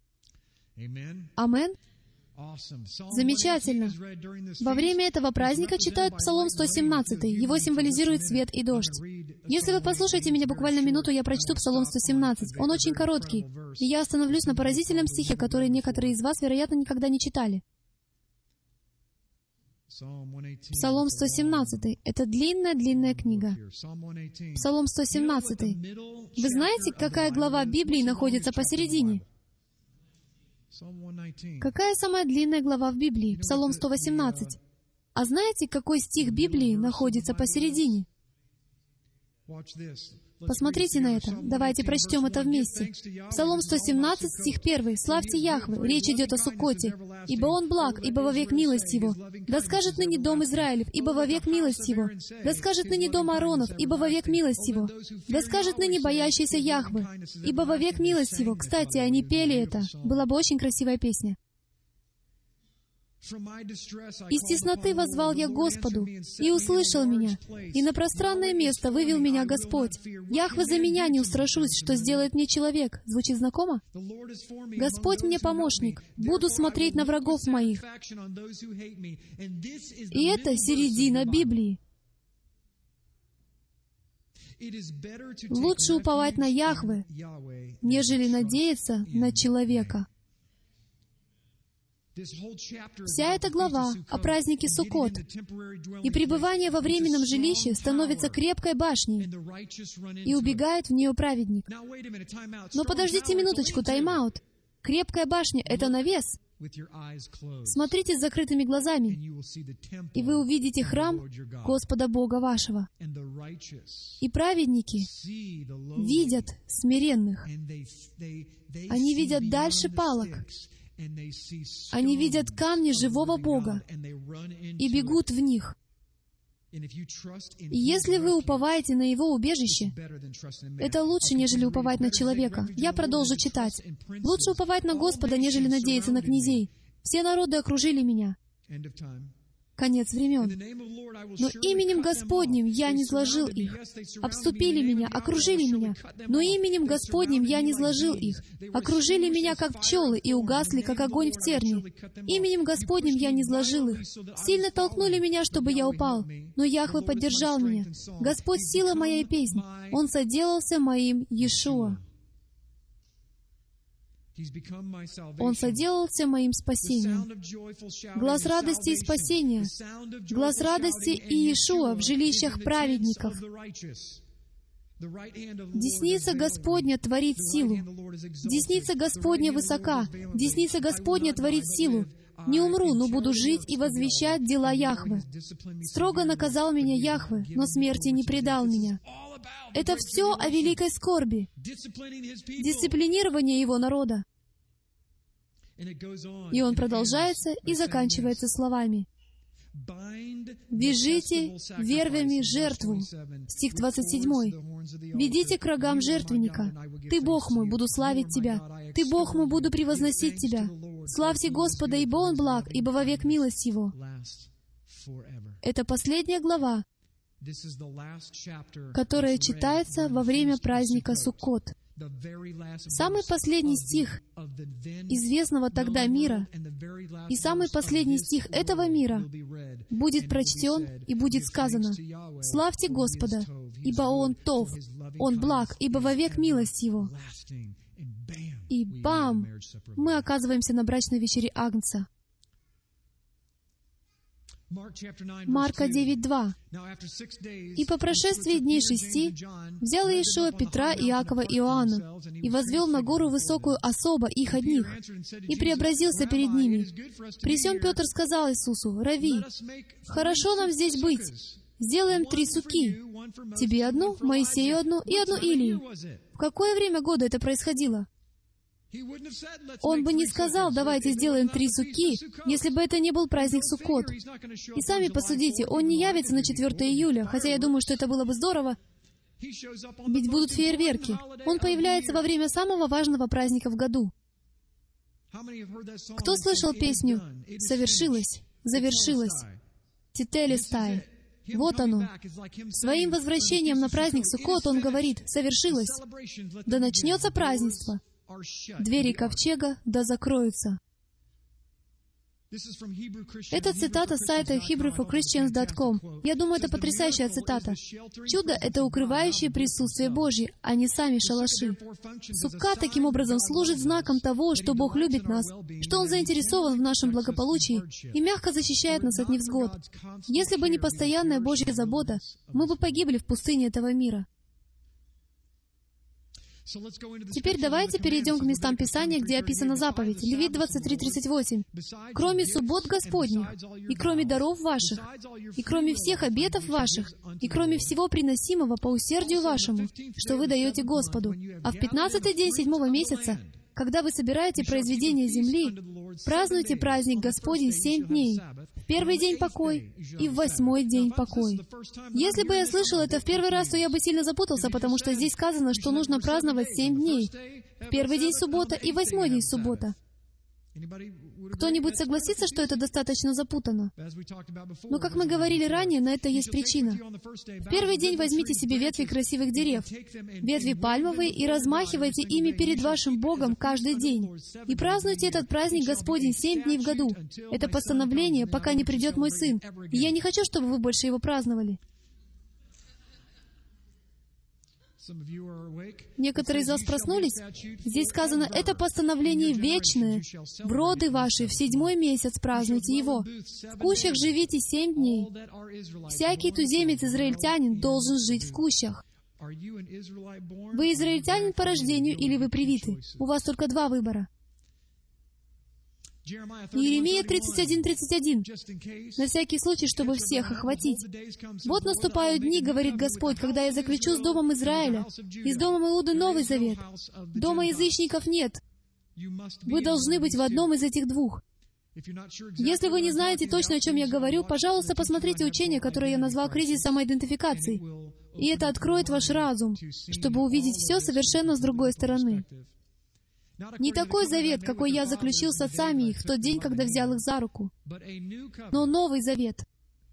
Амен. Замечательно. Во время этого праздника читают Псалом 117. Его символизирует свет и дождь. Если вы послушаете меня буквально минуту, я прочту Псалом 117. Он очень короткий, и я остановлюсь на поразительном стихе, который некоторые из вас, вероятно, никогда не читали. Псалом 117. Это длинная книга. Псалом 117. Вы знаете, какая глава Библии находится посередине? Какая самая длинная глава в Библии? Псалом 118. А знаете, какой стих Библии находится посередине? Посмотрите на это. Давайте прочтем это вместе. Псалом 117, стих 1. «Славьте Яхве». Речь идет о Суккоте. «Ибо Он благ, ибо вовек милость Его. Да скажет ныне дом Израилев, ибо вовек милость Его. Да скажет ныне дом Ааронов, ибо вовек милость Его. Да скажет ныне боящийся Яхве, ибо вовек милость Его». Кстати, они пели это. Была бы очень красивая песня. «Из тесноты воззвал я к Господу, и услышал меня, и на пространное место вывел меня Господь. Яхве за меня не устрашусь, что сделает мне человек». Звучит знакомо? «Господь мне помощник, буду смотреть на врагов моих». И это середина Библии. Лучше уповать на Яхве, нежели надеяться на человека. Вся эта глава о празднике Суккот и пребывание во временном жилище становится крепкой башней, и убегает в нее праведник. Но подождите минуточку, тайм-аут. Крепкая башня — это навес. Смотрите с закрытыми глазами, и вы увидите храм Господа Бога вашего. И праведники видят смиренных. Они видят дальше палок. Они видят камни живого Бога и бегут в них. И если вы уповаете на Его убежище, это лучше, нежели уповать на человека. Я продолжу читать. «Лучше уповать на Господа, нежели надеяться на князей. Все народы окружили меня». Конец времен. «Но именем Господним я не зложил их. Обступили меня, окружили меня, но именем Господним я не зложил их. Окружили меня, как пчелы, и угасли, как огонь в терне. Именем Господним я не зложил их. Сильно толкнули меня, чтобы я упал, но Яхве поддержал меня. Господь — сила моя и песнь. Он соделался моим Иешуа. Он соделался моим спасением. Глас радости и спасения, глас радости и Иешуа в жилищах праведников. Десница Господня творит силу. Десница Господня высока. Десница Господня творит силу. Не умру, но буду жить и возвещать дела Яхве. Строго наказал меня Яхве, но смерти не предал меня. Это все о великой скорби, дисциплинировании Его народа. И он продолжается и заканчивается словами: «Вяжите вервями жертву». Стих 27. «Ведите к рогам жертвенника. Ты, Бог мой, буду славить Тебя. Ты, Бог мой, буду превозносить Тебя. Славьте Господа, ибо Он благ, ибо вовек милость Его». Это последняя глава, которая читается во время праздника Суккот. Самый последний стих известного тогда мира и самый последний стих этого мира будет прочтен и будет сказано: «Славьте Господа, ибо Он Тов, Он благ, ибо вовек милость Его». И бам! Мы оказываемся на брачной вечере Агнца. Марка 9:2. «И по прошествии дней 6 взял Иешуа Петра, Иакова и Иоанна и возвел на гору высокую особо их одних, и преобразился перед ними. При сем Петр сказал Иисусу: Рави, хорошо нам здесь быть. Сделаем 3 суки. Тебе одну, Моисею одну и одну Илии». В какое время года это происходило? Он бы не сказал: давайте сделаем 3 суки, если бы это не был праздник Суккот. И сами посудите, он не явится на 4 июля, хотя я думаю, что это было бы здорово, ведь будут фейерверки. Он появляется во время самого важного праздника в году. Кто слышал песню «Совершилось, завершилось»? Тителестай. Вот оно. Своим возвращением на праздник Суккот он говорит: «Совершилось. Да начнется празднество. Двери ковчега да закроются». Это цитата с сайта HebrewForChristians.com. Я думаю, это потрясающая цитата. Чудо — это укрывающее присутствие Божье, а не сами шалаши. Сукка таким образом служит знаком того, что Бог любит нас, что Он заинтересован в нашем благополучии и мягко защищает нас от невзгод. Если бы не постоянная Божья забота, мы бы погибли в пустыне этого мира. Теперь давайте перейдем к местам Писания, где описана заповедь. Левит 23:38. «Кроме суббот Господних, и кроме даров ваших, и кроме всех обетов ваших, и кроме всего приносимого по усердию вашему, что вы даете Господу, а в 15-й день 7-го месяца, когда вы собираете произведения земли, празднуйте праздник Господень 7 дней. В первый день покой, и в 8-й день покой». Если бы я слышал это в первый раз, то я бы сильно запутался, потому что здесь сказано, что нужно праздновать 7 дней. В первый день суббота и в 8-й день суббота. Кто-нибудь согласится, что это достаточно запутано? Но, как мы говорили ранее, на это есть причина. В первый день возьмите себе ветви красивых дерев, ветви пальмовые, и размахивайте ими перед вашим Богом каждый день. И празднуйте этот праздник Господень 7 дней в году. Это постановление, пока не придет мой сын. И я не хочу, чтобы вы больше его праздновали. Некоторые из вас проснулись? Здесь сказано, это постановление вечное. В роды ваши в 7-й месяц празднуйте его. В кущах живите 7 дней. Всякий туземец-израильтянин должен жить в кущах. Вы израильтянин по рождению или вы привиты? У вас только 2 выбора. Иеремия 31:31. На всякий случай, чтобы всех охватить. «Вот наступают дни, говорит Господь, когда я заключу с домом Израиля и с домом Иуды новый завет. Дома язычников нет. Вы должны быть в одном из этих 2. Если вы не знаете точно, о чем я говорю, пожалуйста, посмотрите учение, которое я назвал кризис самоидентификации. И это откроет ваш разум, чтобы увидеть все совершенно с другой стороны. Не такой завет, какой я заключил с отцами их в тот день, когда взял их за руку, но новый завет.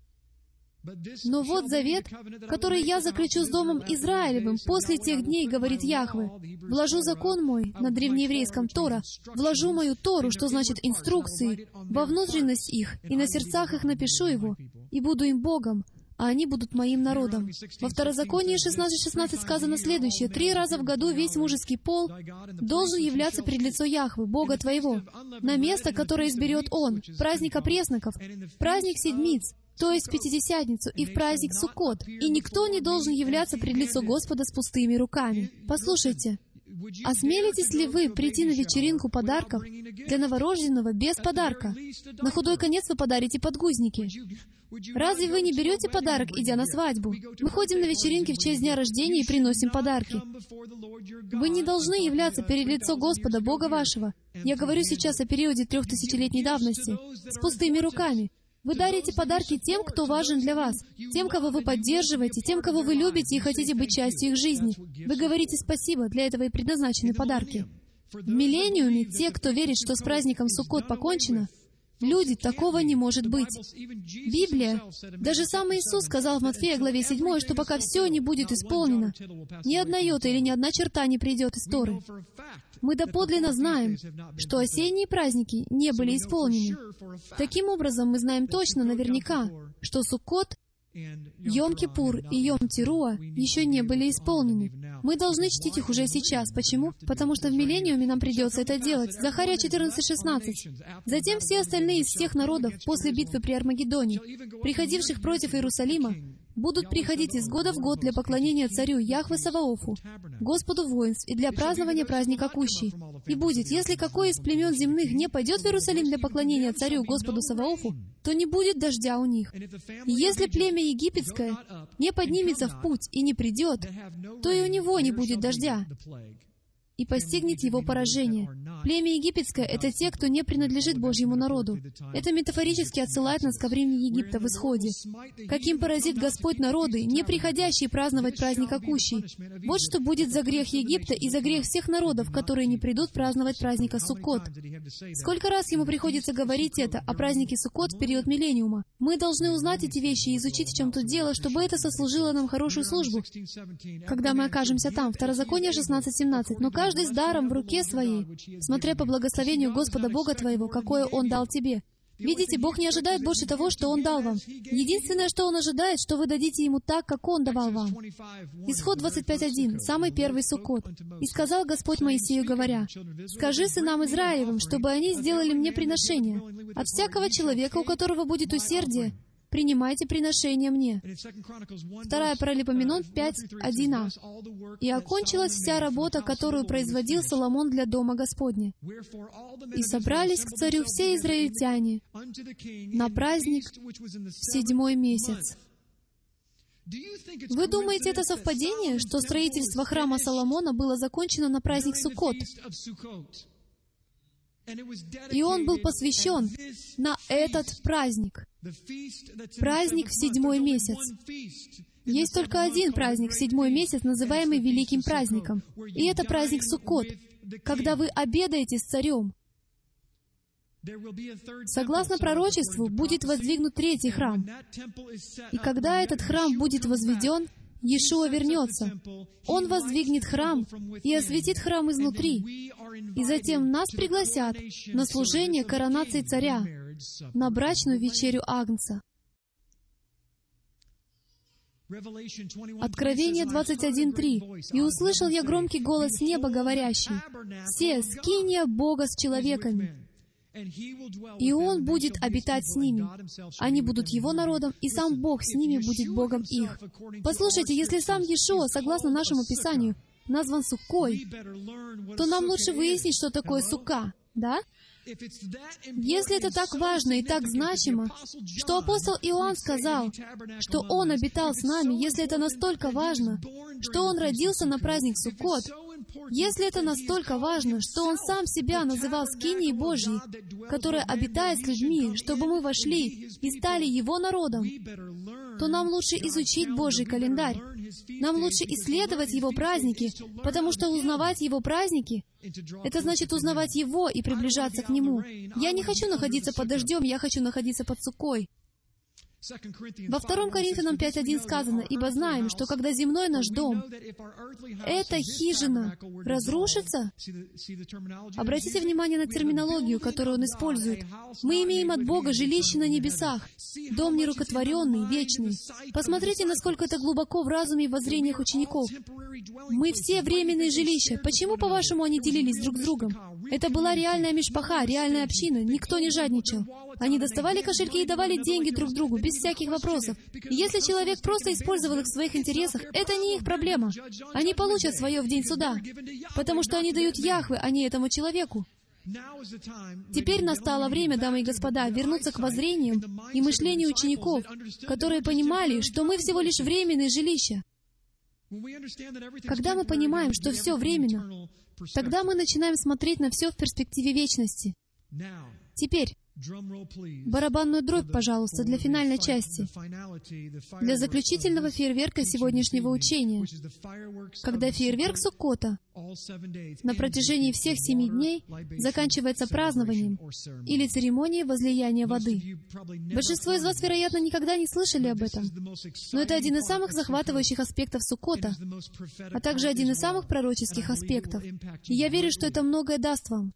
Но вот завет, который я заключу с домом Израилевым после тех дней, говорит Яхве. Вложу закон мой, на древнееврейском Тора, вложу мою Тору, что значит инструкции, во внутренность их, и на сердцах их напишу его, и буду им Богом, а они будут моим народом». Во Второзаконии 16:16 сказано следующее. 3 раза в году весь мужеский пол должен являться пред лицо Яхвы, Бога твоего, на место, которое изберет Он, в праздник опресноков, праздник седмиц, то есть в Пятидесятницу, и в праздник Суккот. И никто не должен являться пред лицо Господа с пустыми руками. Послушайте, осмелитесь ли вы прийти на вечеринку подарков для новорожденного без подарка? На худой конец вы подарите подгузники. Разве вы не берете подарок, идя на свадьбу? Мы ходим на вечеринки в честь дня рождения и приносим подарки. Вы не должны являться перед лицо Господа, Бога вашего. Я говорю сейчас о периоде 3000-летней давности, с пустыми руками. Вы дарите подарки тем, кто важен для вас, тем, кого вы поддерживаете, тем, кого вы любите и хотите быть частью их жизни. Вы говорите спасибо, для этого и предназначены подарки. В миллениуме те, кто верит, что с праздником Суккот покончено, люди, такого не может быть. Библия, даже сам Иисус сказал в Матфея главе 7, что пока все не будет исполнено, ни одна йота или ни одна черта не придет из Торы. Мы доподлинно знаем, что осенние праздники не были исполнены. Таким образом, мы знаем точно, наверняка, что Суккот, Йом-Кипур и Йом-Тируа еще не были исполнены. Мы должны чтить их уже сейчас. Почему? Потому что в миллениуме нам придется это делать. Захария 14:16. «Затем все остальные из всех народов после битвы при Армагеддоне, приходивших против Иерусалима, будут приходить из года в год для поклонения царю Яхве Саваофу, Господу воинств, и для празднования праздника Кущи. И будет, если какой из племен земных не пойдет в Иерусалим для поклонения царю Господу Саваофу, то не будет дождя у них. И если племя египетское не поднимется в путь и не придет, то и у него не будет дождя, и постигнет его поражение». Племя египетское — это те, кто не принадлежит Божьему народу. Это метафорически отсылает нас ко времени Египта в Исходе. Каким поразит Господь народы, не приходящие праздновать праздника Кущи. Вот что будет за грех Египта и за грех всех народов, которые не придут праздновать праздника Суккот. Сколько раз ему приходится говорить это о празднике Суккот в период миллениума? Мы должны узнать эти вещи и изучить, в чем тут дело, чтобы это сослужило нам хорошую службу, когда мы окажемся там. Второзаконие 16:17. «Но каждый с даром в руке своей, смотря по благословению Господа Бога твоего, какое Он дал тебе». Видите, Бог не ожидает больше того, что Он дал вам. Единственное, что Он ожидает, что вы дадите Ему так, как Он давал вам. Исход 25:1, самый первый Суккот. «И сказал Господь Моисею, говоря, скажи сынам Израилевым, чтобы они сделали мне приношение. От всякого человека, у которого будет усердие, принимайте приношения мне». 2 Паралипоменон 5:1а. «И окончилась вся работа, которую производил Соломон для дома Господня. И собрались к царю все израильтяне на праздник в 7-й месяц». Вы думаете, это совпадение, что строительство храма Соломона было закончено на праздник Суккот? И он был посвящен на этот праздник. Праздник в 7-й месяц. Есть только один праздник в 7-й месяц, называемый Великим праздником. И это праздник Суккот, когда вы обедаете с царем. Согласно пророчеству, будет воздвигнут 3-й храм. И когда этот храм будет возведен, Иешуа вернется. Он воздвигнет храм и осветит храм изнутри. И затем нас пригласят на служение коронации царя, на брачную вечерю Агнца. Откровение 21:3. «И услышал я громкий голос с неба, говорящий: „Се, скиния Бога с человеками, и Он будет обитать с ними. Они будут Его народом, и сам Бог с ними будет Богом их». Послушайте, если сам Иешуа, согласно нашему Писанию, назван Суккой, то нам лучше выяснить, что такое Сукка, да? Если это так важно и так значимо, что апостол Иоанн сказал, что он обитал с нами, если это настолько важно, что он родился на праздник Суккот, если это настолько важно, что он сам себя называл скинией Божьей, которая обитает с людьми, чтобы мы вошли и стали Его народом, то нам лучше изучить Божий календарь. Нам лучше исследовать Его праздники, потому что узнавать Его праздники — это значит узнавать Его и приближаться к Нему. Я не хочу находиться под дождем, я хочу находиться под Суккой. Во 2 Коринфянам 5:1 сказано: «Ибо знаем, что когда земной наш дом, эта хижина, разрушится». Обратите внимание на терминологию, которую он использует. Мы имеем от Бога жилище на небесах, дом нерукотворенный, вечный. Посмотрите, насколько это глубоко в разуме и воззрениях учеников. Мы все временные жилища. Почему, по-вашему, они делились друг с другом? Это была реальная мишпаха, реальная община. Никто не жадничал. Они доставали кошельки и давали деньги друг другу, без всяких вопросов. И если человек просто использовал их в своих интересах, это не их проблема. Они получат свое в день суда, потому что они дают Яхве, а не этому человеку. Теперь настало время, дамы и господа, вернуться к воззрениям и мышлению учеников, которые понимали, что мы всего лишь временные жилища. Когда мы понимаем, что все временно, тогда мы начинаем смотреть на все в перспективе вечности. Теперь, барабанную дробь, пожалуйста, для финальной части, для заключительного фейерверка сегодняшнего учения, когда фейерверк Суккота на протяжении всех 7 дней заканчивается празднованием или церемонией возлияния воды. Большинство из вас, вероятно, никогда не слышали об этом, но это один из самых захватывающих аспектов Суккота, а также один из самых пророческих аспектов. И я верю, что это многое даст вам.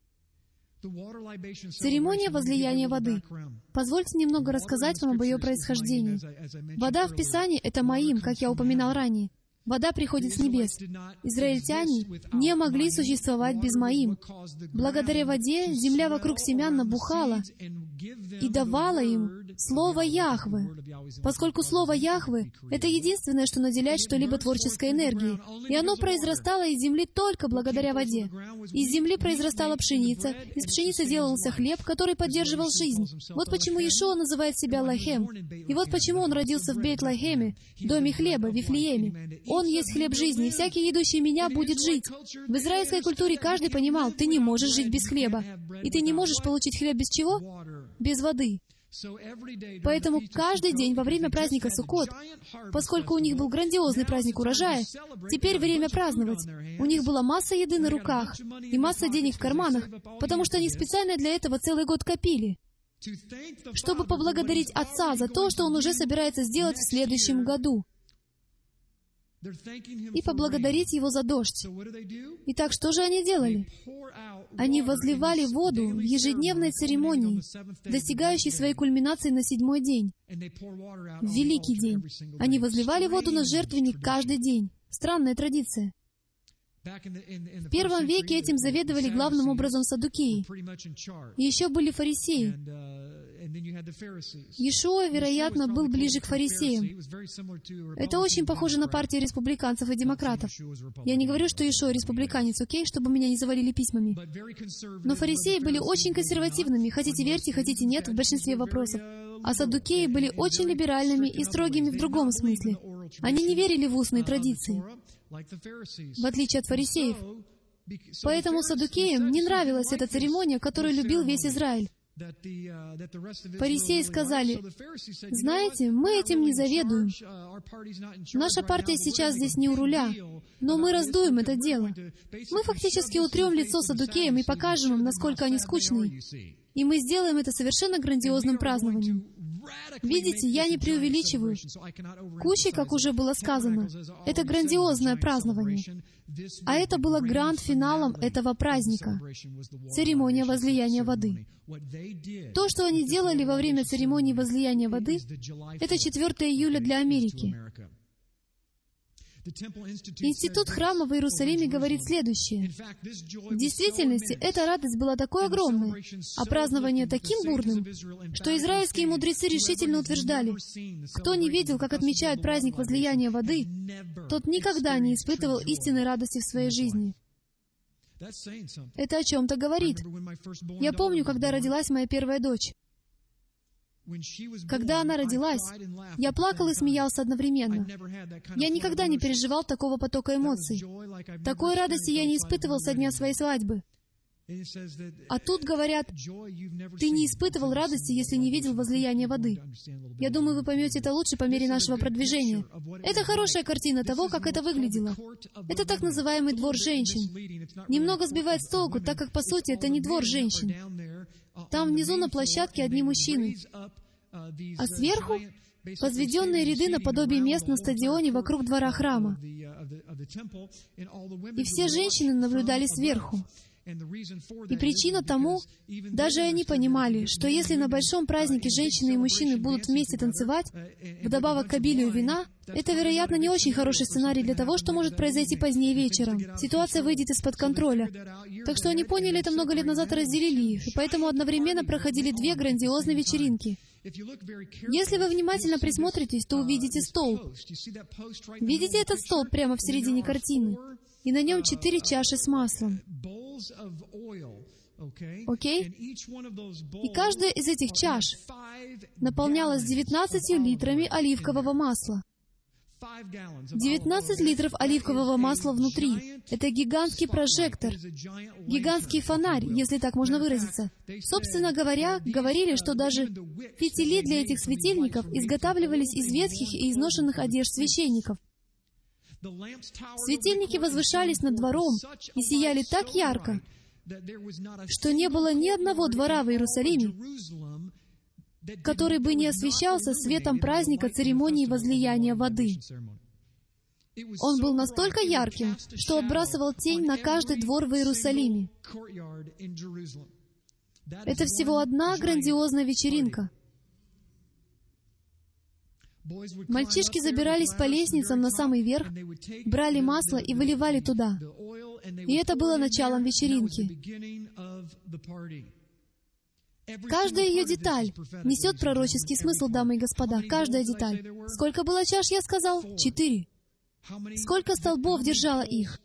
Церемония возлияния воды. Позвольте немного рассказать вам об ее происхождении. Вода в Писании — это Маим, как я упоминал ранее. Вода приходит с небес. Израильтяне не могли существовать без Маим. Благодаря воде земля вокруг семян набухала и давала им Слово Яхве, поскольку Слово Яхве — это единственное, что наделяет что-либо творческой энергией. И оно произрастало из земли только благодаря воде. Из земли произрастала пшеница, из пшеницы делался хлеб, который поддерживал жизнь. Вот почему Иешуа называет себя Лахем. И вот почему Он родился в Бейт-Лахеме, доме хлеба, в Вифлееме. Он есть хлеб жизни, и всякий, едущий Меня, будет жить. В израильской культуре каждый понимал, ты не можешь жить без хлеба. И ты не можешь получить хлеб без чего? Без воды. Поэтому каждый день во время праздника Суккот, поскольку у них был грандиозный праздник урожая, теперь время праздновать. У них была масса еды на руках и масса денег в карманах, потому что они специально для этого целый год копили, чтобы поблагодарить Отца за то, что Он уже собирается сделать в следующем году, и поблагодарить Его за дождь. Итак, что же они делали? Они возливали воду в ежедневной церемонии, достигающей своей кульминации на 7-й день, в Великий день. Они возливали воду на жертвенник каждый день. Странная традиция. В первом веке этим заведовали главным образом саддукеи. И еще были фарисеи. Иешуа, вероятно, был ближе к фарисеям. Это очень похоже на партии республиканцев и демократов. Я не говорю, что Иешуа республиканец, окей, чтобы меня не завалили письмами. Но фарисеи были очень консервативными, хотите верьте, хотите нет, в большинстве вопросов. А саддукеи были очень либеральными и строгими в другом смысле. Они не верили в устные традиции, в отличие от фарисеев. Поэтому саддукеям не нравилась эта церемония, которую любил весь Израиль. Фарисеи сказали: «Знаете, мы этим не заведуем. Наша партия сейчас здесь не у руля, но мы раздуем это дело. Мы фактически утрем лицо саддукеям и покажем им, насколько они скучные. И мы сделаем это совершенно грандиозным празднованием». Видите, я не преувеличиваю. Кущи, как уже было сказано, это грандиозное празднование. А это было гранд-финалом этого праздника — церемония возлияния воды. То, что они делали во время церемонии возлияния воды, это 4 июля для Америки. Институт храма в Иерусалиме говорит следующее. В действительности, эта радость была такой огромной, а празднование таким бурным, что израильские мудрецы решительно утверждали: кто не видел, как отмечают праздник возлияния воды, тот никогда не испытывал истинной радости в своей жизни. Это о чем-то говорит. Я помню, когда родилась моя первая дочь. Когда она родилась, я плакал и смеялся одновременно. Я никогда не переживал такого потока эмоций. Такой радости я не испытывал со дня своей свадьбы. А тут говорят: ты не испытывал радости, если не видел возлияния воды. Я думаю, вы поймете это лучше по мере нашего продвижения. Это хорошая картина того, как это выглядело. Это так называемый двор женщин. Немного сбивает с толку, так как, по сути, это не двор женщин. Там внизу на площадке одни мужчины. А сверху — возведенные ряды наподобие мест на стадионе вокруг двора храма. И все женщины наблюдали сверху. И причина тому, даже они понимали, что если на большом празднике женщины и мужчины будут вместе танцевать, вдобавок к обилию вина, это, вероятно, не очень хороший сценарий для того, что может произойти позднее вечером. Ситуация выйдет из-под контроля. Так что они поняли это много лет назад и разделили их, и поэтому одновременно проходили 2 грандиозные вечеринки. Если вы внимательно присмотритесь, то увидите столб. Видите этот столб прямо в середине картины? И на нем 4 чаши с маслом. Окей? И каждая из этих чаш наполнялась 19 литрами оливкового масла. 19 литров оливкового масла внутри. Это гигантский прожектор, гигантский фонарь, если так можно выразиться. Собственно говоря, говорили, что даже фитили для этих светильников изготавливались из ветхих и изношенных одежд священников. Светильники возвышались над двором и сияли так ярко, что не было ни одного двора в Иерусалиме, который бы не освещался светом праздника церемонии возлияния воды. Он был настолько ярким, что отбрасывал тень на каждый двор в Иерусалиме. Это всего одна грандиозная вечеринка. Мальчишки забирались по лестницам на самый верх, брали масло и выливали туда. И это было началом вечеринки. Каждая ее деталь несет пророческий смысл, дамы и господа. Каждая деталь. Сколько было чаш, я сказал? 4. Сколько столбов держало их?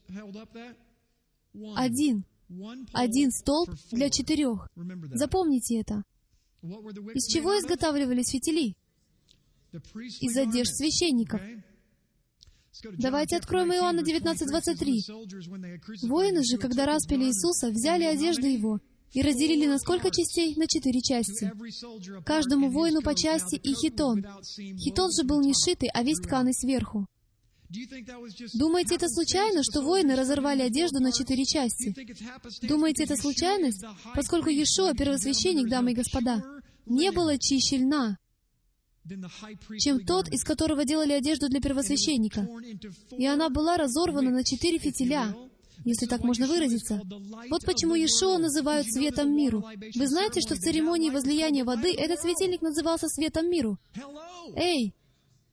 1. 1 столб для 4. Запомните это. Из чего изготавливались фитили? Из одежд священников. Давайте откроем Иоанна 19:23. Воины же, когда распяли Иисуса, взяли одежды Его и разделили на сколько частей? На 4 части. Каждому воину по части и хитон. Хитон же был не сшитый, а весь тканый сверху. Думаете, это случайно, что воины разорвали одежду на 4 части? Думаете, это случайность? Поскольку Иешуа, первосвященник, дамы и господа, не было чище льна, чем тот, из которого делали одежду для первосвященника. И она была разорвана на 4 фитиля, если так можно выразиться. Вот почему Иешуа называют светом миру. Вы знаете, что в церемонии возлияния воды этот светильник назывался светом миру? Эй!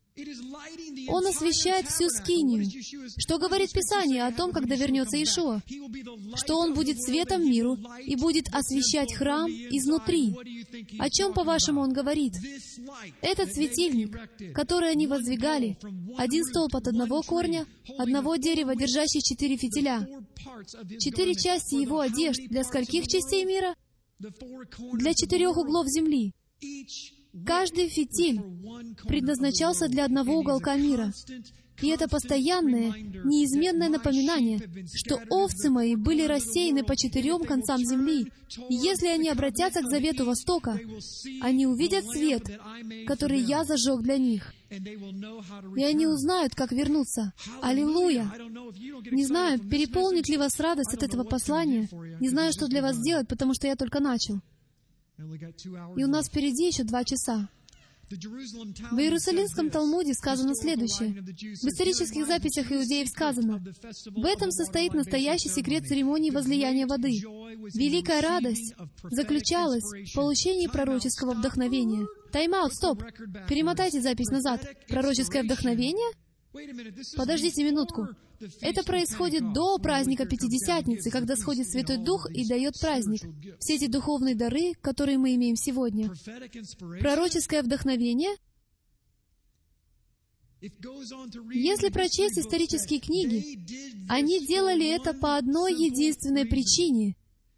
Он освещает всю скинию. Что говорит Писание о том, когда вернется Иешуа? Что Он будет светом миру и будет освещать храм изнутри. О чем, по-вашему, Он говорит? Этот светильник, который они воздвигали, один столб от одного корня, одного дерева, держащий 4 фитиля. 4 части его одежд для скольких частей мира? Для 4 углов земли. Каждый фитиль предназначался для одного уголка мира. И это постоянное, неизменное напоминание, что овцы мои были рассеяны по 4 концам земли. И если они обратятся к завету Востока, они увидят свет, который я зажег для них. И они узнают, как вернуться. Аллилуйя! Не знаю, переполнит ли вас радость от этого послания. Не знаю, что для вас сделать, потому что я только начал. И у нас впереди еще 2 часа. В Иерусалимском Талмуде сказано следующее. В исторических записях иудеев сказано: «В этом состоит настоящий секрет церемонии возлияния воды. Великая радость заключалась в получении пророческого вдохновения». Тайм-аут, стоп! Перемотайте запись назад. Пророческое вдохновение? Подождите минутку. Это происходит до праздника Пятидесятницы, когда сходит Святой Дух и дает праздник. Все эти духовные дары, которые мы имеем сегодня. Пророческое вдохновение. Если прочесть исторические книги, они делали это по одной единственной причине.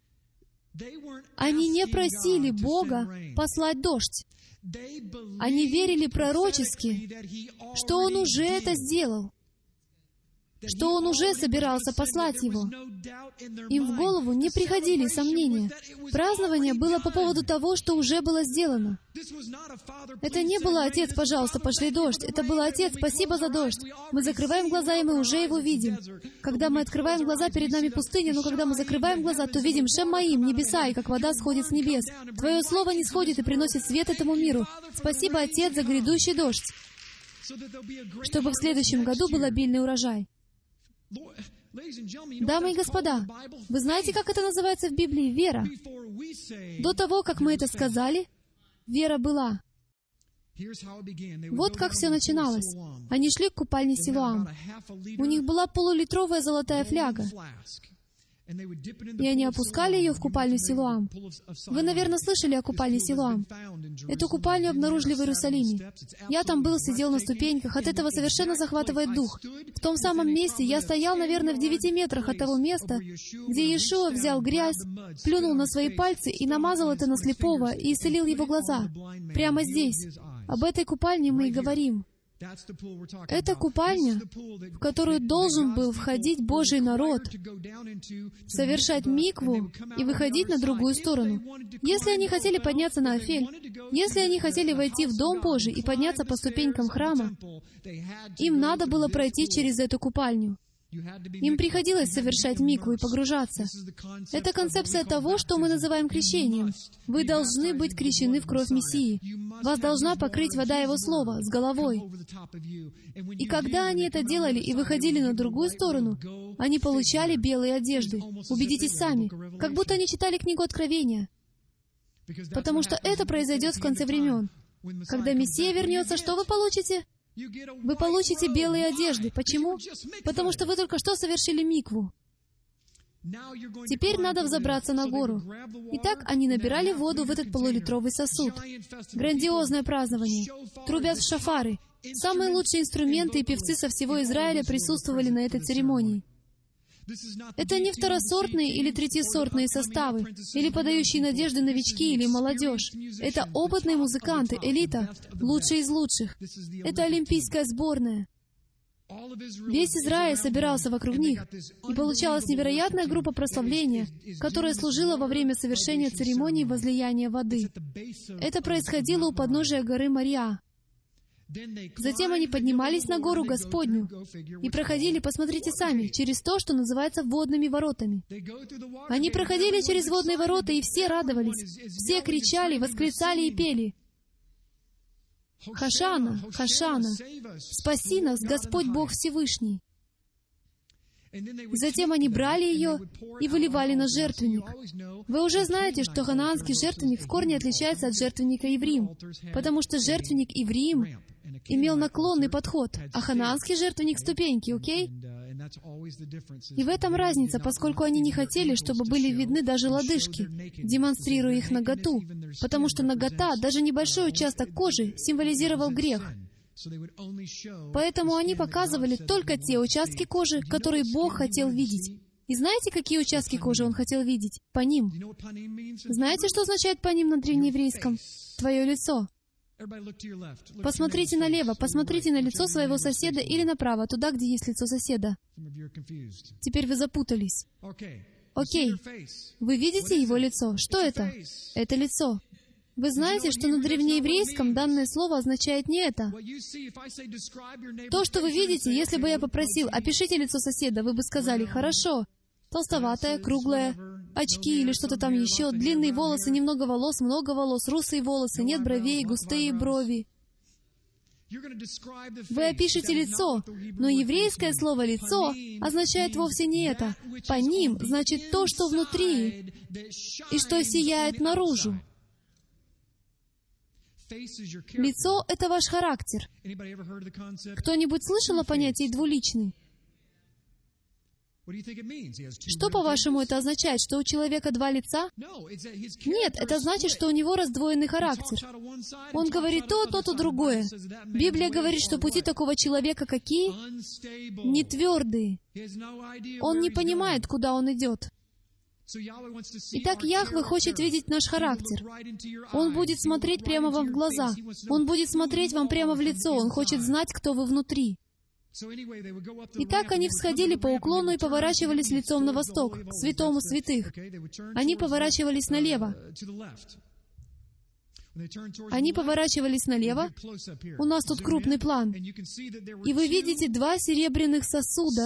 Они не просили Бога послать дождь. Они верили пророчески, что Он уже это сделал, что Он уже собирался послать его. Им в голову не приходили сомнения. Празднование было по поводу того, что уже было сделано. Это не было: «Отец, пожалуйста, пошли дождь». Это было: «Отец, спасибо за дождь». Мы закрываем глаза, и мы уже его видим. Когда мы открываем глаза, перед нами пустыня, но когда мы закрываем глаза, то видим Шем Моим, небеса, и как вода сходит с небес. Твое Слово не сходит и приносит свет этому миру. Спасибо, Отец, за грядущий дождь, чтобы в следующем году был обильный урожай. Дамы и господа, вы знаете, как это называется в Библии? Вера. До того, как мы это сказали, вера была. Вот как все начиналось. Они шли к купальне Силоам. У них была полулитровая золотая фляга. И они опускали ее в купальню Силоам. Вы, наверное, слышали о купальне Силоам. Эту купальню обнаружили в Иерусалиме. Я там был, сидел на ступеньках. От этого совершенно захватывает дух. В том самом месте я стоял, наверное, в 9 метрах от того места, где Иешуа взял грязь, плюнул на свои пальцы и намазал это на слепого и исцелил его глаза. Прямо здесь. Об этой купальне мы и говорим. Это купальня, в которую должен был входить Божий народ, совершать микву и выходить на другую сторону. Если они хотели подняться на Афель, если они хотели войти в Дом Божий и подняться по ступенькам храма, им надо было пройти через эту купальню. Им приходилось совершать микву и погружаться. Это концепция того, что мы называем крещением. Вы должны быть крещены в кровь Мессии. Вас должна покрыть вода Его Слова с головой. И когда они это делали и выходили на другую сторону, они получали белые одежды. Убедитесь сами, как будто они читали книгу Откровения. Потому что это произойдет в конце времен. Когда Мессия вернется, что вы получите? Вы получите белые одежды. Почему? Потому что вы только что совершили микву. Теперь надо взобраться на гору. Итак, они набирали воду в этот полулитровый сосуд. Грандиозное празднование. Трубят в шафары. Самые лучшие инструменты и певцы со всего Израиля присутствовали на этой церемонии. Это не второсортные или третьесортные составы, или подающие надежды новички или молодежь. Это опытные музыканты, элита, лучшие из лучших. Это олимпийская сборная. Весь Израиль собирался вокруг них, и получалась невероятная группа прославления, которая служила во время совершения церемонии возлияния воды. Это происходило у подножия горы Мориа. Затем они поднимались на гору Господню и проходили, посмотрите сами, через то, что называется водными воротами. Они проходили через водные ворота, и все радовались, все кричали, восклицали и пели: «Хошанна, Хошанна! Спаси нас, Господь Бог Всевышний!» Затем они брали ее и выливали на жертвенник. Вы уже знаете, что ханаанский жертвенник в корне отличается от жертвенника Иврим, потому что жертвенник Иврим имел наклонный подход, а ханаанский жертвенник — ступеньки, окей? И в этом разница, поскольку они не хотели, чтобы были видны даже лодыжки, демонстрируя их наготу, потому что нагота, даже небольшой участок кожи, символизировал грех. Поэтому они показывали только те участки кожи, которые Бог хотел видеть. И знаете, какие участки кожи Он хотел видеть? Паним. Знаете, что означает паним на древнееврейском? Твое лицо. Посмотрите налево, посмотрите на лицо своего соседа или направо, туда, где есть лицо соседа. Теперь вы запутались. Окей. Вы видите его лицо? Что это? Это лицо. Вы знаете, что на древнееврейском данное слово означает не это. То, что вы видите, если бы я попросил, опишите лицо соседа, вы бы сказали, хорошо, толстоватое, круглое, очки или что-то там еще, длинные волосы, немного волос, много волос, русые волосы, нет бровей, густые брови. Вы опишете лицо, но еврейское слово «лицо» означает вовсе не это. Паним значит то, что внутри и что сияет наружу. Лицо — это ваш характер. Кто-нибудь слышал о понятии «двуличный»? Что, по-вашему, это означает? Что у человека два лица? Нет, это значит, что у него раздвоенный характер. Он говорит то другое. Библия говорит, что пути такого человека какие? Не твердые. Он не понимает, куда он идет. Итак, Яхве хочет видеть наш характер. Он будет смотреть прямо вам в глаза. Он будет смотреть вам прямо в лицо. Он хочет знать, кто вы внутри. Итак, они всходили по уклону и поворачивались лицом на восток, к святому святых. Они поворачивались налево. Они поворачивались налево. У нас тут крупный план. И вы видите два серебряных сосуда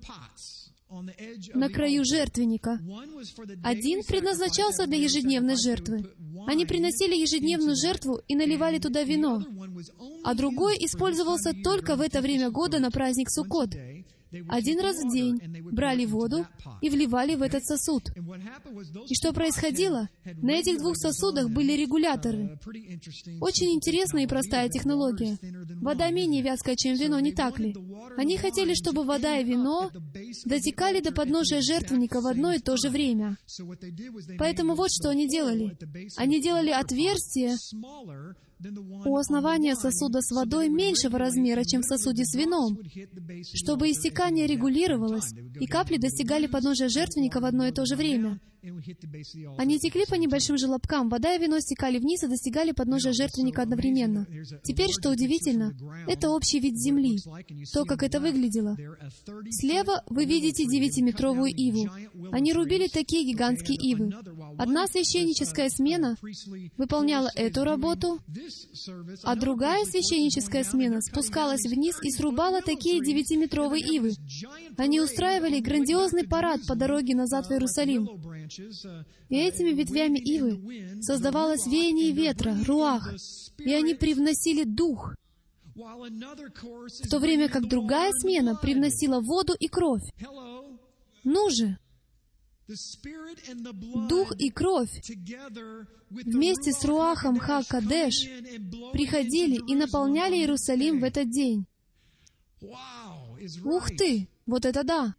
на краю жертвенника. Один предназначался для ежедневной жертвы. Они приносили ежедневную жертву и наливали туда вино. А другой использовался только в это время года на праздник Суккот. Один раз в день брали воду и вливали в этот сосуд. И что происходило? На этих двух сосудах были регуляторы. Очень интересная и простая технология. Вода менее вязкая, чем вино, не так ли? Они хотели, чтобы вода и вино дотекали до подножия жертвенника в одно и то же время. Поэтому вот что они делали. Они делали отверстие у основания сосуда с водой меньшего размера, чем в сосуде с вином, чтобы истекание регулировалось, и капли достигали подножия жертвенника в одно и то же время. Они текли по небольшим желобкам, вода и вино стекали вниз и достигали подножия жертвенника одновременно. Теперь, что удивительно, это общий вид земли, то, как это выглядело. Слева вы видите 9-метровую иву. Они рубили такие гигантские ивы. Одна священническая смена выполняла эту работу, а другая священническая смена спускалась вниз и срубала такие 9-метровые ивы. Они устраивали грандиозный парад по дороге назад в Иерусалим. И этими ветвями ивы создавалось веяние ветра, руах, и они привносили дух, в то время как другая смена привносила воду и кровь. Ну же! Дух и кровь вместе с руахом Ха-Кадеш приходили и наполняли Иерусалим в этот день. Ух ты! Вот это да!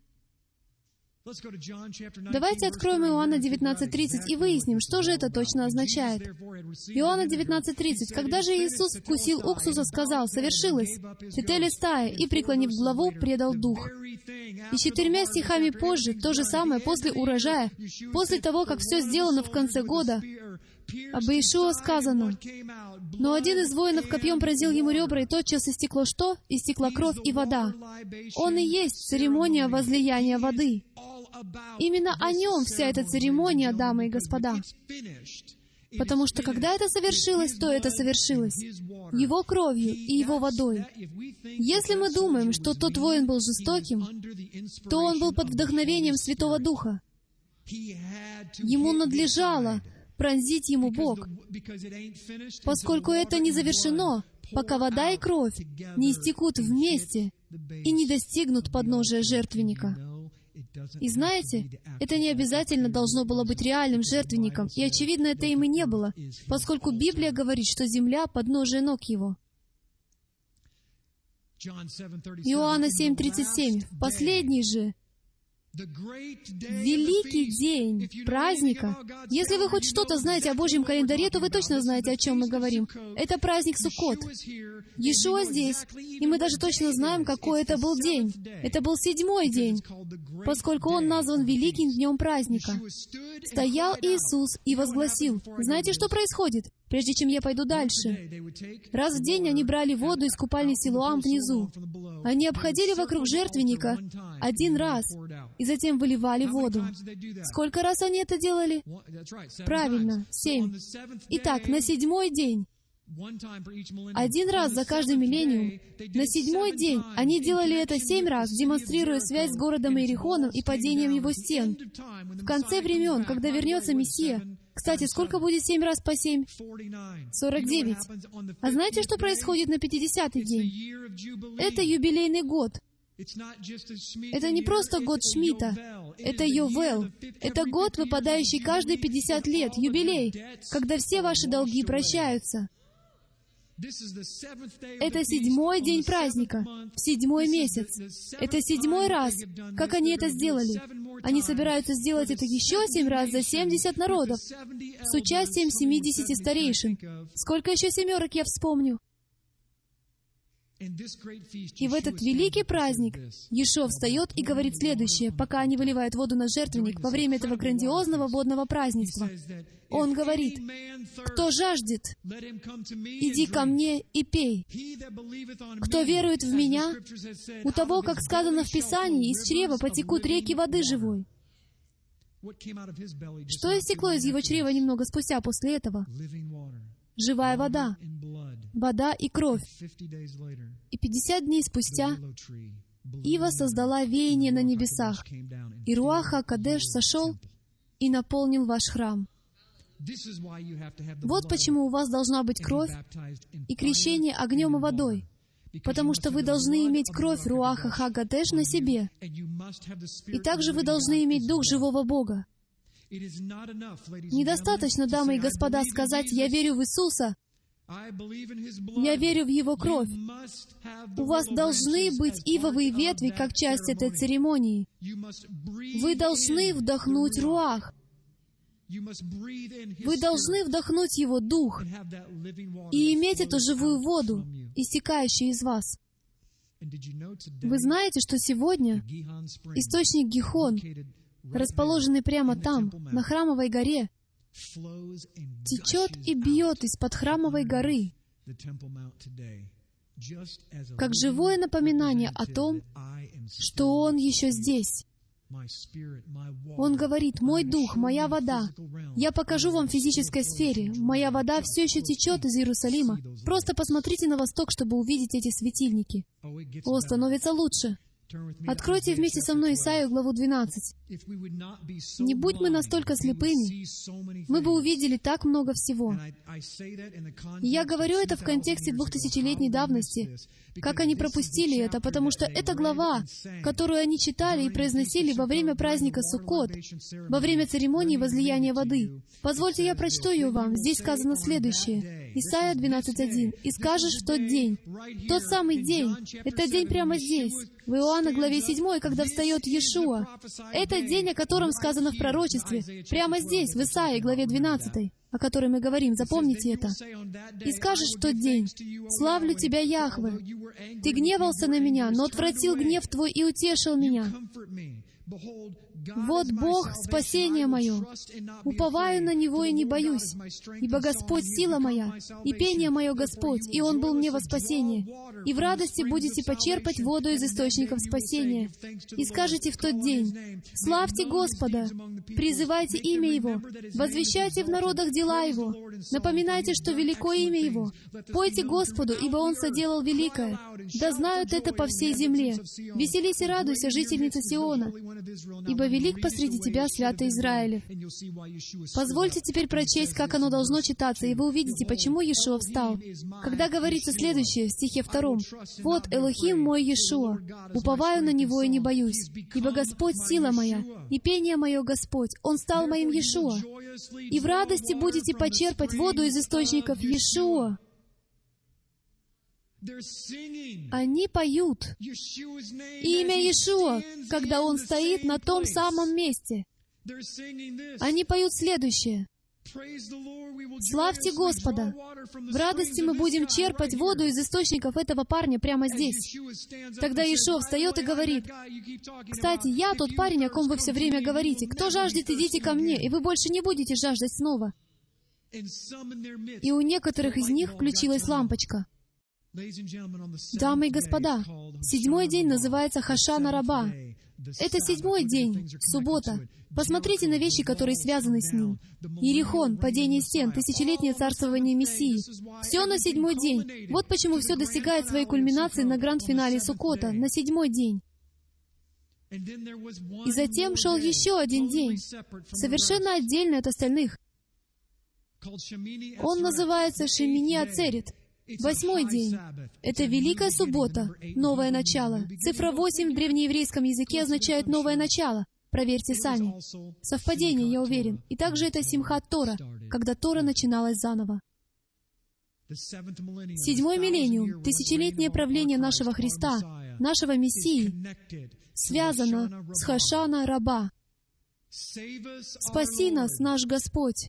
Давайте откроем Иоанна 19:30 и выясним, что же это точно означает. Иоанна 19:30. Когда же Иисус вкусил уксуса, сказал: «Совершилось, тетелестай», и, преклонив главу, предал дух. И 4 стихами позже, то же самое, после урожая, после того, как все сделано в конце года, об Иешуа сказано: «Но один из воинов копьем поразил ему ребра, и тотчас истекло что? Истекла кровь и вода». Он и есть церемония возлияния воды. Именно о нем вся эта церемония, дамы и господа. Потому что когда это совершилось, то это совершилось Его кровью и Его водой. Если мы думаем, что тот воин был жестоким, то он был под вдохновением Святого Духа. Ему надлежало пронзить ему бок, поскольку это не завершено, пока вода и кровь не истекут вместе и не достигнут подножия жертвенника. И знаете, это не обязательно должно было быть реальным жертвенником, и, очевидно, это им и не было, поскольку Библия говорит, что земля — подножие ног Его. Иоанна 7:37. В последний же великий день праздника. Если вы хоть что-то знаете о Божьем календаре, то вы точно знаете, о чем мы говорим. Это праздник Суккот. Иешуа здесь, и мы даже точно знаем, какой это был день. Это был 7-й день, поскольку он назван великим днем праздника. Стоял Иисус и возгласил. Знаете, что происходит? Прежде чем я пойду дальше. Раз в день они брали воду из купальни Силуам внизу. Они обходили вокруг жертвенника один раз, и затем выливали воду. Сколько раз они это делали? Правильно, 7. Итак, на 7-й день, один раз за каждый миллениум, на 7-й день они делали это 7 раз, демонстрируя связь с городом Иерихоном и падением его стен. В конце времен, когда вернется Мессия, кстати, сколько будет 7 раз по 7? 49. А знаете, что происходит на 50-й день? Это юбилейный год. Это не просто год Шмита. Это Йовел. Это год, выпадающий каждые 50 лет, юбилей, когда все ваши долги прощаются. Это 7-й день праздника, в 7-й месяц. Это 7-й раз, как они это сделали. Они собираются сделать это еще 7 раз за 70 народов, с участием 70 старейшин. Сколько еще семерок я вспомню? И в этот великий праздник Иешуа встает и говорит следующее, пока они выливают воду на жертвенник во время этого грандиозного водного празднества. Он говорит: «Кто жаждет, иди ко мне и пей. Кто верует в Меня, у того, как сказано в Писании, из чрева потекут реки воды живой». Что истекло из его чрева немного спустя после этого? Живая вода, вода и кровь. И 50 дней спустя Ива создала веяние на небесах, и Руах ха-Кодеш сошел и наполнил ваш храм. Вот почему у вас должна быть кровь и крещение огнем и водой, потому что вы должны иметь кровь Руаха ха-Кодеш на себе, и также вы должны иметь Дух живого Бога. Недостаточно, дамы и господа, сказать: «Я верю в Иисуса», «Я верю в Его кровь». У вас должны быть ивовые ветви как часть этой церемонии. Вы должны вдохнуть Руах. Вы должны вдохнуть Его Дух и иметь эту живую воду, истекающую из вас. Вы знаете, что сегодня источник Гихон, расположенный прямо там, на Храмовой горе, течет и бьет из-под Храмовой горы, как живое напоминание о том, что Он еще здесь. Он говорит: «Мой Дух, моя вода». Я покажу вам в физической сфере. Моя вода все еще течет из Иерусалима. Просто посмотрите на восток, чтобы увидеть эти светильники. О, становится лучше. Откройте вместе со мной Исаию, главу 12. Не будь мы настолько слепыми, мы бы увидели так много всего. И я говорю это в контексте 2000-летней давности, как они пропустили это, потому что это глава, которую они читали и произносили во время праздника Суккот, во время церемонии возлияния воды. Позвольте, я прочту ее вам. Здесь сказано следующее. Исайя 12:1. «И скажешь в тот день». Тот самый день. Это день прямо здесь. В Иоанна главе 7, когда встает Иешуа. Это день, о котором сказано в пророчестве. Прямо здесь, в Исаии главе 12, о которой мы говорим. Запомните это. «И скажешь в тот день: славлю Тебя, Яхве. Ты гневался на меня, но отвратил гнев Твой и утешил меня. Вот Бог — спасение мое. Уповаю на Него и не боюсь, ибо Господь — сила моя, и пение мое Господь, и Он был мне во спасение. И в радости будете почерпать воду из источников спасения. И скажете в тот день: славьте Господа, призывайте имя Его, возвещайте в народах дела дела Его. Напоминайте, что велико имя Его. Пойте Господу, ибо Он соделал великое. Да знают это по всей земле. Веселись и радуйся, жительница Сиона, ибо велик посреди тебя святый Израилев. Позвольте теперь прочесть, как оно должно читаться, и вы увидите, почему Иешуа встал. Когда говорится следующее, в стихе 2: «Вот Элохим мой Иешуа, уповаю на Него и не боюсь, ибо Господь сила моя, и пение мое Господь, Он стал моим Иешуа. И в радости будете почерпать воду из источников Иешуа». Они поют имя Иешуа, когда Он стоит на том самом месте. Они поют следующее: «Славьте Господа! В радости мы будем черпать воду из источников этого парня прямо здесь». Тогда Иешуа встает и говорит: «Кстати, я тот парень, о ком вы все время говорите. Кто жаждет, идите ко мне, и вы больше не будете жаждать снова». И у некоторых из них включилась лампочка. Дамы и господа, 7-й день называется Хошана Раба. Это 7-й день, суббота. Посмотрите на вещи, которые связаны с ним. Иерихон, падение стен, тысячелетнее царствование Мессии. Все на 7-й день. Вот почему все достигает своей кульминации на гранд-финале Суккота, на 7-й день. И затем шел еще один день, совершенно отдельный от остальных. Он называется Шемини Ацерет. 8-й день. Это Великая Суббота, новое начало. Цифра 8 в древнееврейском языке означает «новое начало». Проверьте сами. Совпадение, я уверен. И также это Симхат Тора, когда Тора начиналась заново. 7-й миллениум, тысячелетнее правление нашего Христа, нашего Мессии, связано с Хошана Раба. «Спаси нас, наш Господь!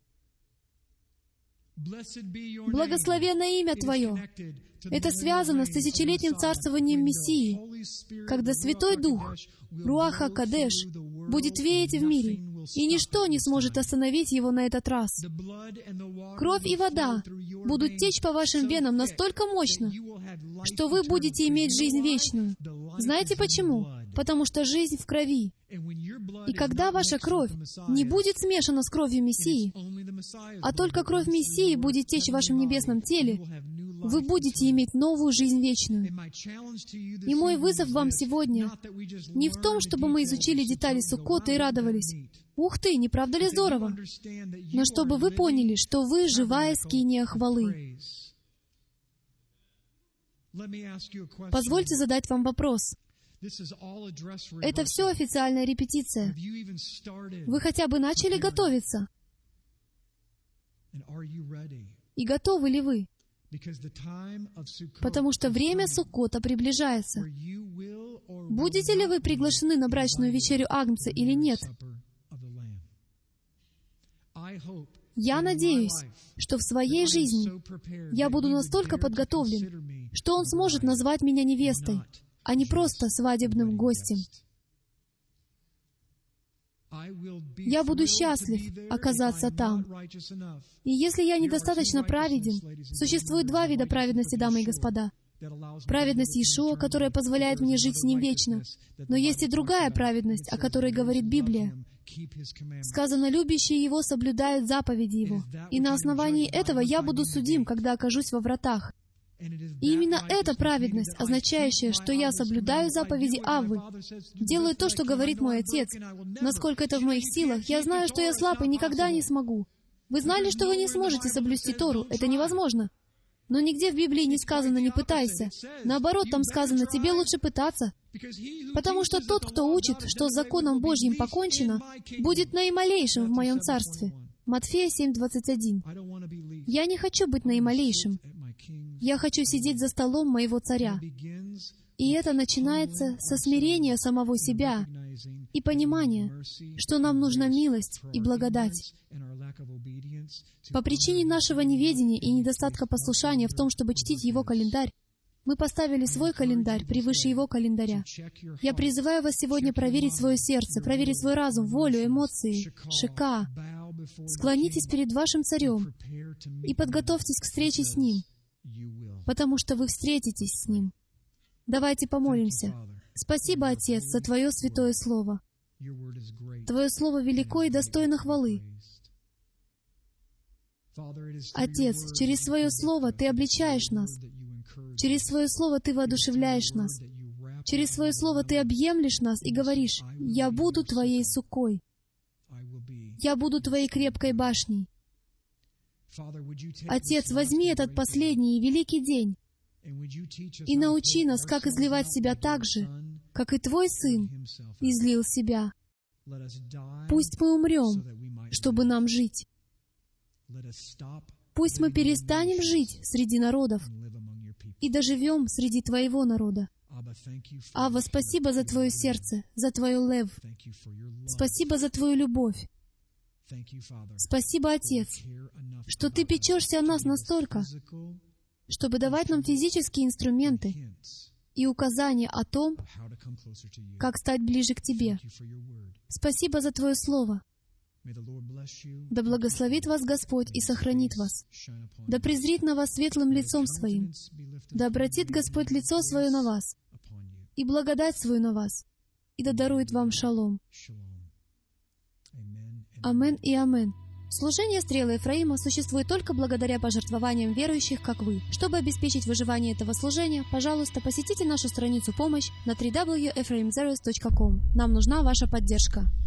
Благословенно имя Твое». Это связано с тысячелетним царствованием Мессии, когда Святой Дух, Руах ха-Кодеш, будет веять в мире, и ничто не сможет остановить Его на этот раз. Кровь и вода будут течь по вашим венам настолько мощно, что вы будете иметь жизнь вечную. Знаете почему? Потому что жизнь в крови. И когда ваша кровь не будет смешана с кровью Мессии, а только кровь Мессии будет течь в вашем небесном теле, вы будете иметь новую жизнь вечную. И мой вызов вам сегодня не в том, чтобы мы изучили детали Суккота и радовались. Ух ты, не правда ли здорово? Но чтобы вы поняли, что вы живая скиния хвалы. Позвольте задать вам вопрос. Это все официальная репетиция. Вы хотя бы начали готовиться? И готовы ли вы? Потому что время Суккота приближается. Будете ли вы приглашены на брачную вечерю Агнца или нет? Я надеюсь, что в своей жизни я буду настолько подготовлен, что Он сможет назвать меня невестой, а не просто свадебным гостем. Я буду счастлив оказаться там. И если я недостаточно праведен, существует 2 вида праведности, дамы и господа. Праведность Иешуа, которая позволяет мне жить с Ним вечно. Но есть и другая праведность, о которой говорит Библия. Сказано: «Любящие Его соблюдают заповеди Его». И на основании этого я буду судим, когда окажусь во вратах. И именно эта праведность, означающая, что я соблюдаю заповеди Аввы, делаю то, что говорит мой Отец. Насколько это в моих силах, я знаю, что я слаб и никогда не смогу. Вы знали, что вы не сможете соблюсти Тору? Это невозможно. Но нигде в Библии не сказано «не пытайся». Наоборот, там сказано «тебе лучше пытаться». Потому что тот, кто учит, что с законом Божьим покончено, будет наималейшим в моем царстве. Матфея 7:21. Я не хочу быть наималейшим. Я хочу сидеть за столом моего царя. И это начинается со смирения самого себя и понимания, что нам нужна милость и благодать. По причине нашего неведения и недостатка послушания в том, чтобы чтить Его календарь, мы поставили свой календарь превыше Его календаря. Я призываю вас сегодня проверить свое сердце, проверить свой разум, волю, эмоции, шика. Склонитесь перед вашим царем и подготовьтесь к встрече с Ним, потому что вы встретитесь с Ним. Давайте помолимся. Спасибо, Отец, за Твое святое Слово. Твое Слово велико и достойно хвалы. Отец, через Свое Слово Ты обличаешь нас. Через Свое Слово Ты воодушевляешь нас. Через Свое Слово Ты объемлешь нас и говоришь: «Я буду Твоей сукой. Я буду Твоей крепкой башней». Отец, возьми этот последний и великий день и научи нас, как изливать себя так же, как и Твой Сын излил себя. Пусть мы умрем, чтобы нам жить. Пусть мы перестанем жить среди народов и доживем среди Твоего народа. Авва, спасибо за Твое сердце, за Твою лев. Спасибо за Твою любовь. Спасибо, Отец, что Ты печешься о нас настолько, чтобы давать нам физические инструменты и указания о том, как стать ближе к Тебе. Спасибо за Твое Слово. Да благословит вас Господь и сохранит вас. Да презрит на вас светлым лицом Своим. Да обратит Господь лицо Свое на вас и благодать Свою на вас, и да дарует вам шалом. Амен и амен. Служение «Стрелы Ефраима» существует только благодаря пожертвованиям верующих, как вы. Чтобы обеспечить выживание этого служения, пожалуйста, посетите нашу страницу «Помощь» на www.ephraimzeros.com. Нам нужна ваша поддержка.